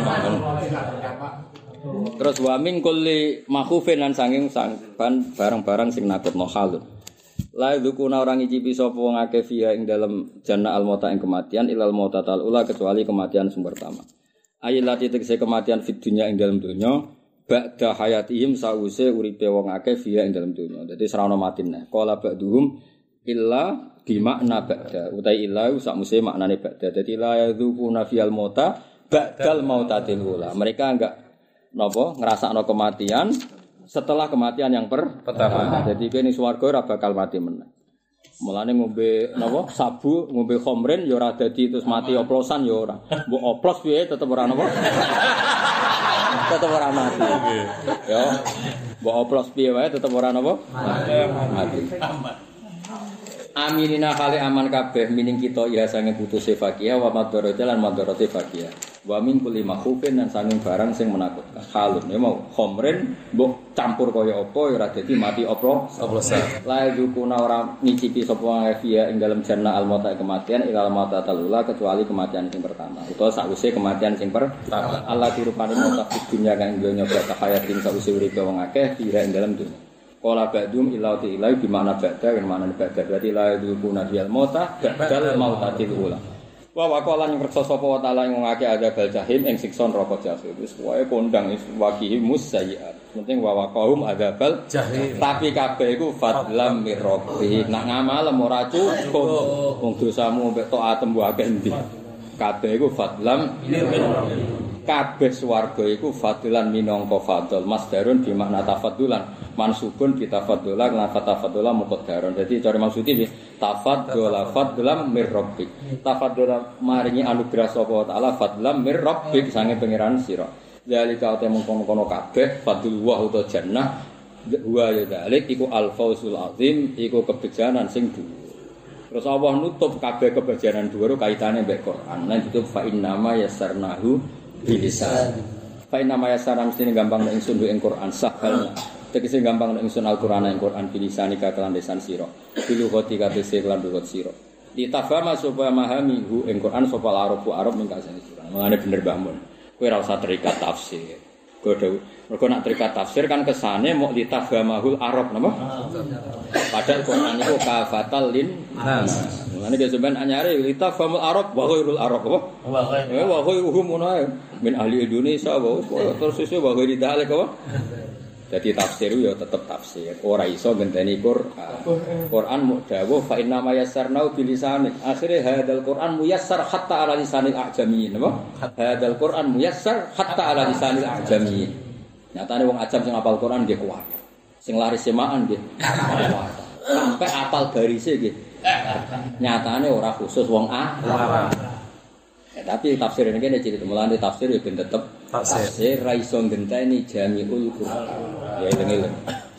Terus wa min kulli makhufin lan sanging sangpan barang-barang sing nakutno halun. La dzukuna orang ngicipi sapa wong akeh fiha ing dalem jannah al-mauta ing kematian ilal mautatal ula kecuali kematian sing pertama. Ayat lati tegese kematian fid dunya ing dalem donya ba'da hayatihim sause uripe wong akeh fiya ing dalem dunya. Dadi serana matine. Qala ba'duhum illa bimakna ba'da. Utai illa sakmuse maknane ba'da. Dadi la yadzuquna fiyal mauta ba'dal mautatil ula. Mereka enggak napa ngrasakno kematian setelah kematian yang pertama. Jadi kene swarga ora bakal mati meneh. Mulane ngombe napa sabu, ngombe khamrin ya ora dadi terus mati oplosan ya ora. Mbok oplos piye tetep ora napa? Tetep ora mati. Ya. Mbok oplos piye wae tetep ora napa? Mati. Aminina kali aman kabeh mining kita ya sange putuse fakiyah wa madharate lan madharate fakiyah. Wa min kulli makhufin lan sanging barang sing menakutkan. Halun ya mau khamrin mbok campur kaya apa ya ora dadi mati oplosan. La yukuna ora ngicipi sapa ya ing dalem jannah al-mauta kematian ilal mauta talula kecuali kematian sing pertama. Utawa sakwise kematian sing pertama. Allah dirupani mauta dunya kang donya bata hayatin sakwise uripe wong akeh kira ing dalem dunya. Qala ba'dum illa ilai bi makna ba'da kan makna ba'da berarti la yudhuna fil mauta ba'dal mautatil ula. Wa waqala ing reksa sapa wa taala ing ngake ada bal jahim ing siksa neraka jahim. Wis wae kondang wis waqihi musayyiat. Penting wa waqahum ada bal jahim. Tapi kabeh iku fadlam mir rabbi. Nak ngamal ora cukup. Wong dosamu mek taatem wae akeh endi. Kabeh iku fadlam kabeh swarga iku fadilan minangka fadl masdarun bi makna tafaddulan mansubun bi tafaddulan lan tafaddulan muqaddarun. Dadi cara maksude iki tafaddula fadlam mir rabbik. Tafaddula maringi anugerah sapa taala fadlam mir rabbik sange pangeran sira. Zalika te mengkono-kono kabeh fadlullah utawa jannah wa ya dalik iku al fausul azim iku kebejanan sing dhuwur. Terus Allah nutup kabeh kebejanan dhuwur kaitane mbek Quran. Lan ditutup fa innama yassarnahu bilisan. Fa inna ma yasara mestine gampang nek ingsun ing Quran sahal. Tegese gampang nek ingsun Al-Qur'an ing Quran bilisani kakelan lisan sira. Bilu khoti kabeh lan lugat sira. Ditafama supaya memahami hu ing Quran sapa Arab ning kasane sira. Mangane bener Mbah Mun. Kowe ora usah terikat tafsir. Mergo nak terikat tafsir kan kesane mok ditafhamahul Arab napa? Padahal Quran iku kafatal lin nas. Mulane ge sampean anyare litafhamul Arab wa ghairul Arab apa? Wa ghairuhum min ahli Indonesia wa terus iso wa ghairi dalek apa? Jadi tafsir ya tetep tafsir. Ora iso ngenteni Quran. Quran muk dawuh fa inna ma yassarnau bilisanik. Akhire hadzal Quran muyassar hatta ala lisanil a'jamiyyin, apa? Hadzal Quran muyassar hatta ala lisanil a'jamiyyin. Nyatane wong ajam sing hafal Quran nggih kuat. Sing laris semaan nggih kuat. Sampai hafal garise nggih. Nyatane ora khusus wong Arab. Tapi tafsir ini kene cerita mulane tafsir ya ben tetep tafsir ra iso ngenteni jamiul Quran. Ya eling-eling.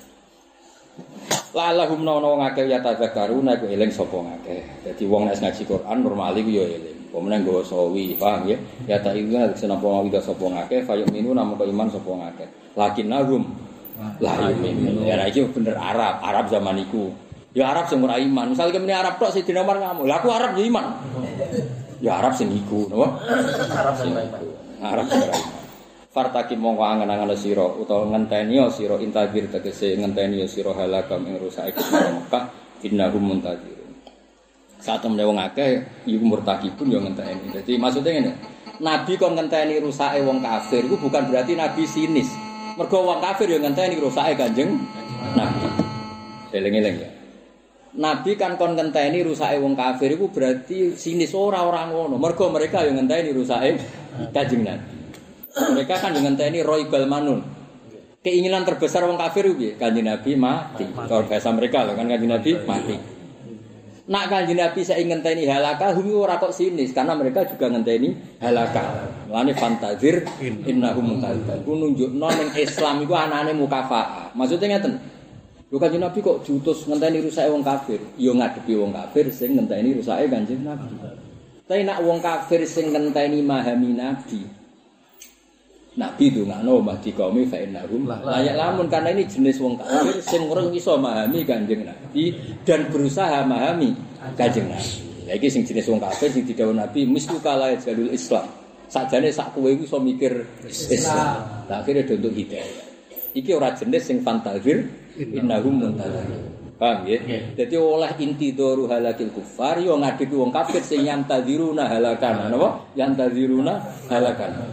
Lalahum nono wong akeh ya tadzakkaruna iku eling sapa ngakeh. Dadi wong nek ngaji Quran normal iku ya eling. Pemenang nggawa sawi, paham ya? Ya ta iku nek senapa wida sapa ngakeh fayuk minu namung iman sapa ngakeh. Lakinnahum la yu'minu. Ya iki bener Arab zaman iku. Ya Arab sing ora iman. Misale kene Arab tok Sidina Umar ngamuk. Lah aku Arab ya iman. Ya Arab sing iku, napa? Arab sing iku. Arab sing iku. Fartaki mongko angen-angen sira utawa ngenteni sira intagir tegese ngenteni sira halakam ing rusake Mekah innahum muntazirun. Satemene wong akeh iku murtakipun ya ngenteni. Dadi maksudnya ngene. Nabi kon ngenteni rusake wong kafir iku bukan berarti nabi sinis. Mergo wong kafir ya ngenteni rusake Kanjeng Nabi. Eling-eling ya. Nabi kan kon ngenteni rusake wong kafir iku berarti sinis ora ngono. Mergo mereka yang ngenteni rusake Kanjeng Nabi. Mereka kan ngenteni roibal manun. Keinginan terbesar wong kafir piye? Kanjeng Nabi mati. Kalau bahasa mereka lho kan Kanjeng Nabi mati. Nak Kanjeng Nabi saya ngenteni halaka hum ora kok sinis karena mereka juga ngenteni halaka. Lane fantazir innahum muntazir. Ku nunjukno ning Islam iku anane mukafaah. Maksudnya ngeten. Lho Kanjeng Nabi kok diutus ngenteni rusake wong kafir? Ya ngadepi wong kafir sing ngenteni rusake Kanjeng Nabi. Tapi nak wong kafir sing ngenteni memahami Nabi. Nabi dongakno mahdi qaumi fa innahum layak lamun karena ini jenis wong kafir sing ora iso memahami Kanjeng Nabi dan berusaha memahami Kanjeng Nabi. Lah iki sing jenis wong kafir sing didhawuh Nabi mislu kala jalul Islam. Sakjane sak kowe iso mikir Islam. Lah akhire untuk hidayah. Iki ora jenis sing fantazir innahum muntazir. Paham ya? Dadi oleh inti doru halakil kufar yo ngadepi wong kafir sing yantaziruna halakan. Napa? Yantaziruna halakan.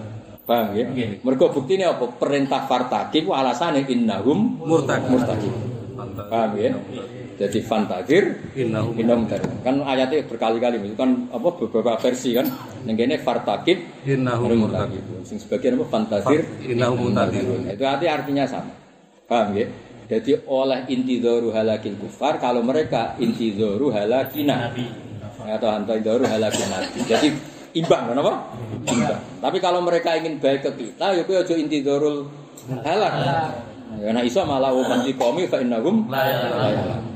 Paham ya? Mergo buktine apa? Perintah fartaqib alasane innahum murtaqib. Paham ya? Jadi fantazir innahum murtaqib. Kan ayatnya berkali-kali itu kan apa beberapa versi kan. Ning kene fartaqib innahum murtaqib. Sing sebagian apa fantazir innahum murtaqib. Itu artinya sama. Paham ya? Jadi oleh intidharu halakil kufar kalau mereka intidharu halakina. Atau intidharu halakina. Jadi imbang kan apa? Imbang. Tapi kalau mereka ingin baik ke kita, ya kuwi aja intidharul halak. Ya nek iso malah wa man liqomi fa innahum la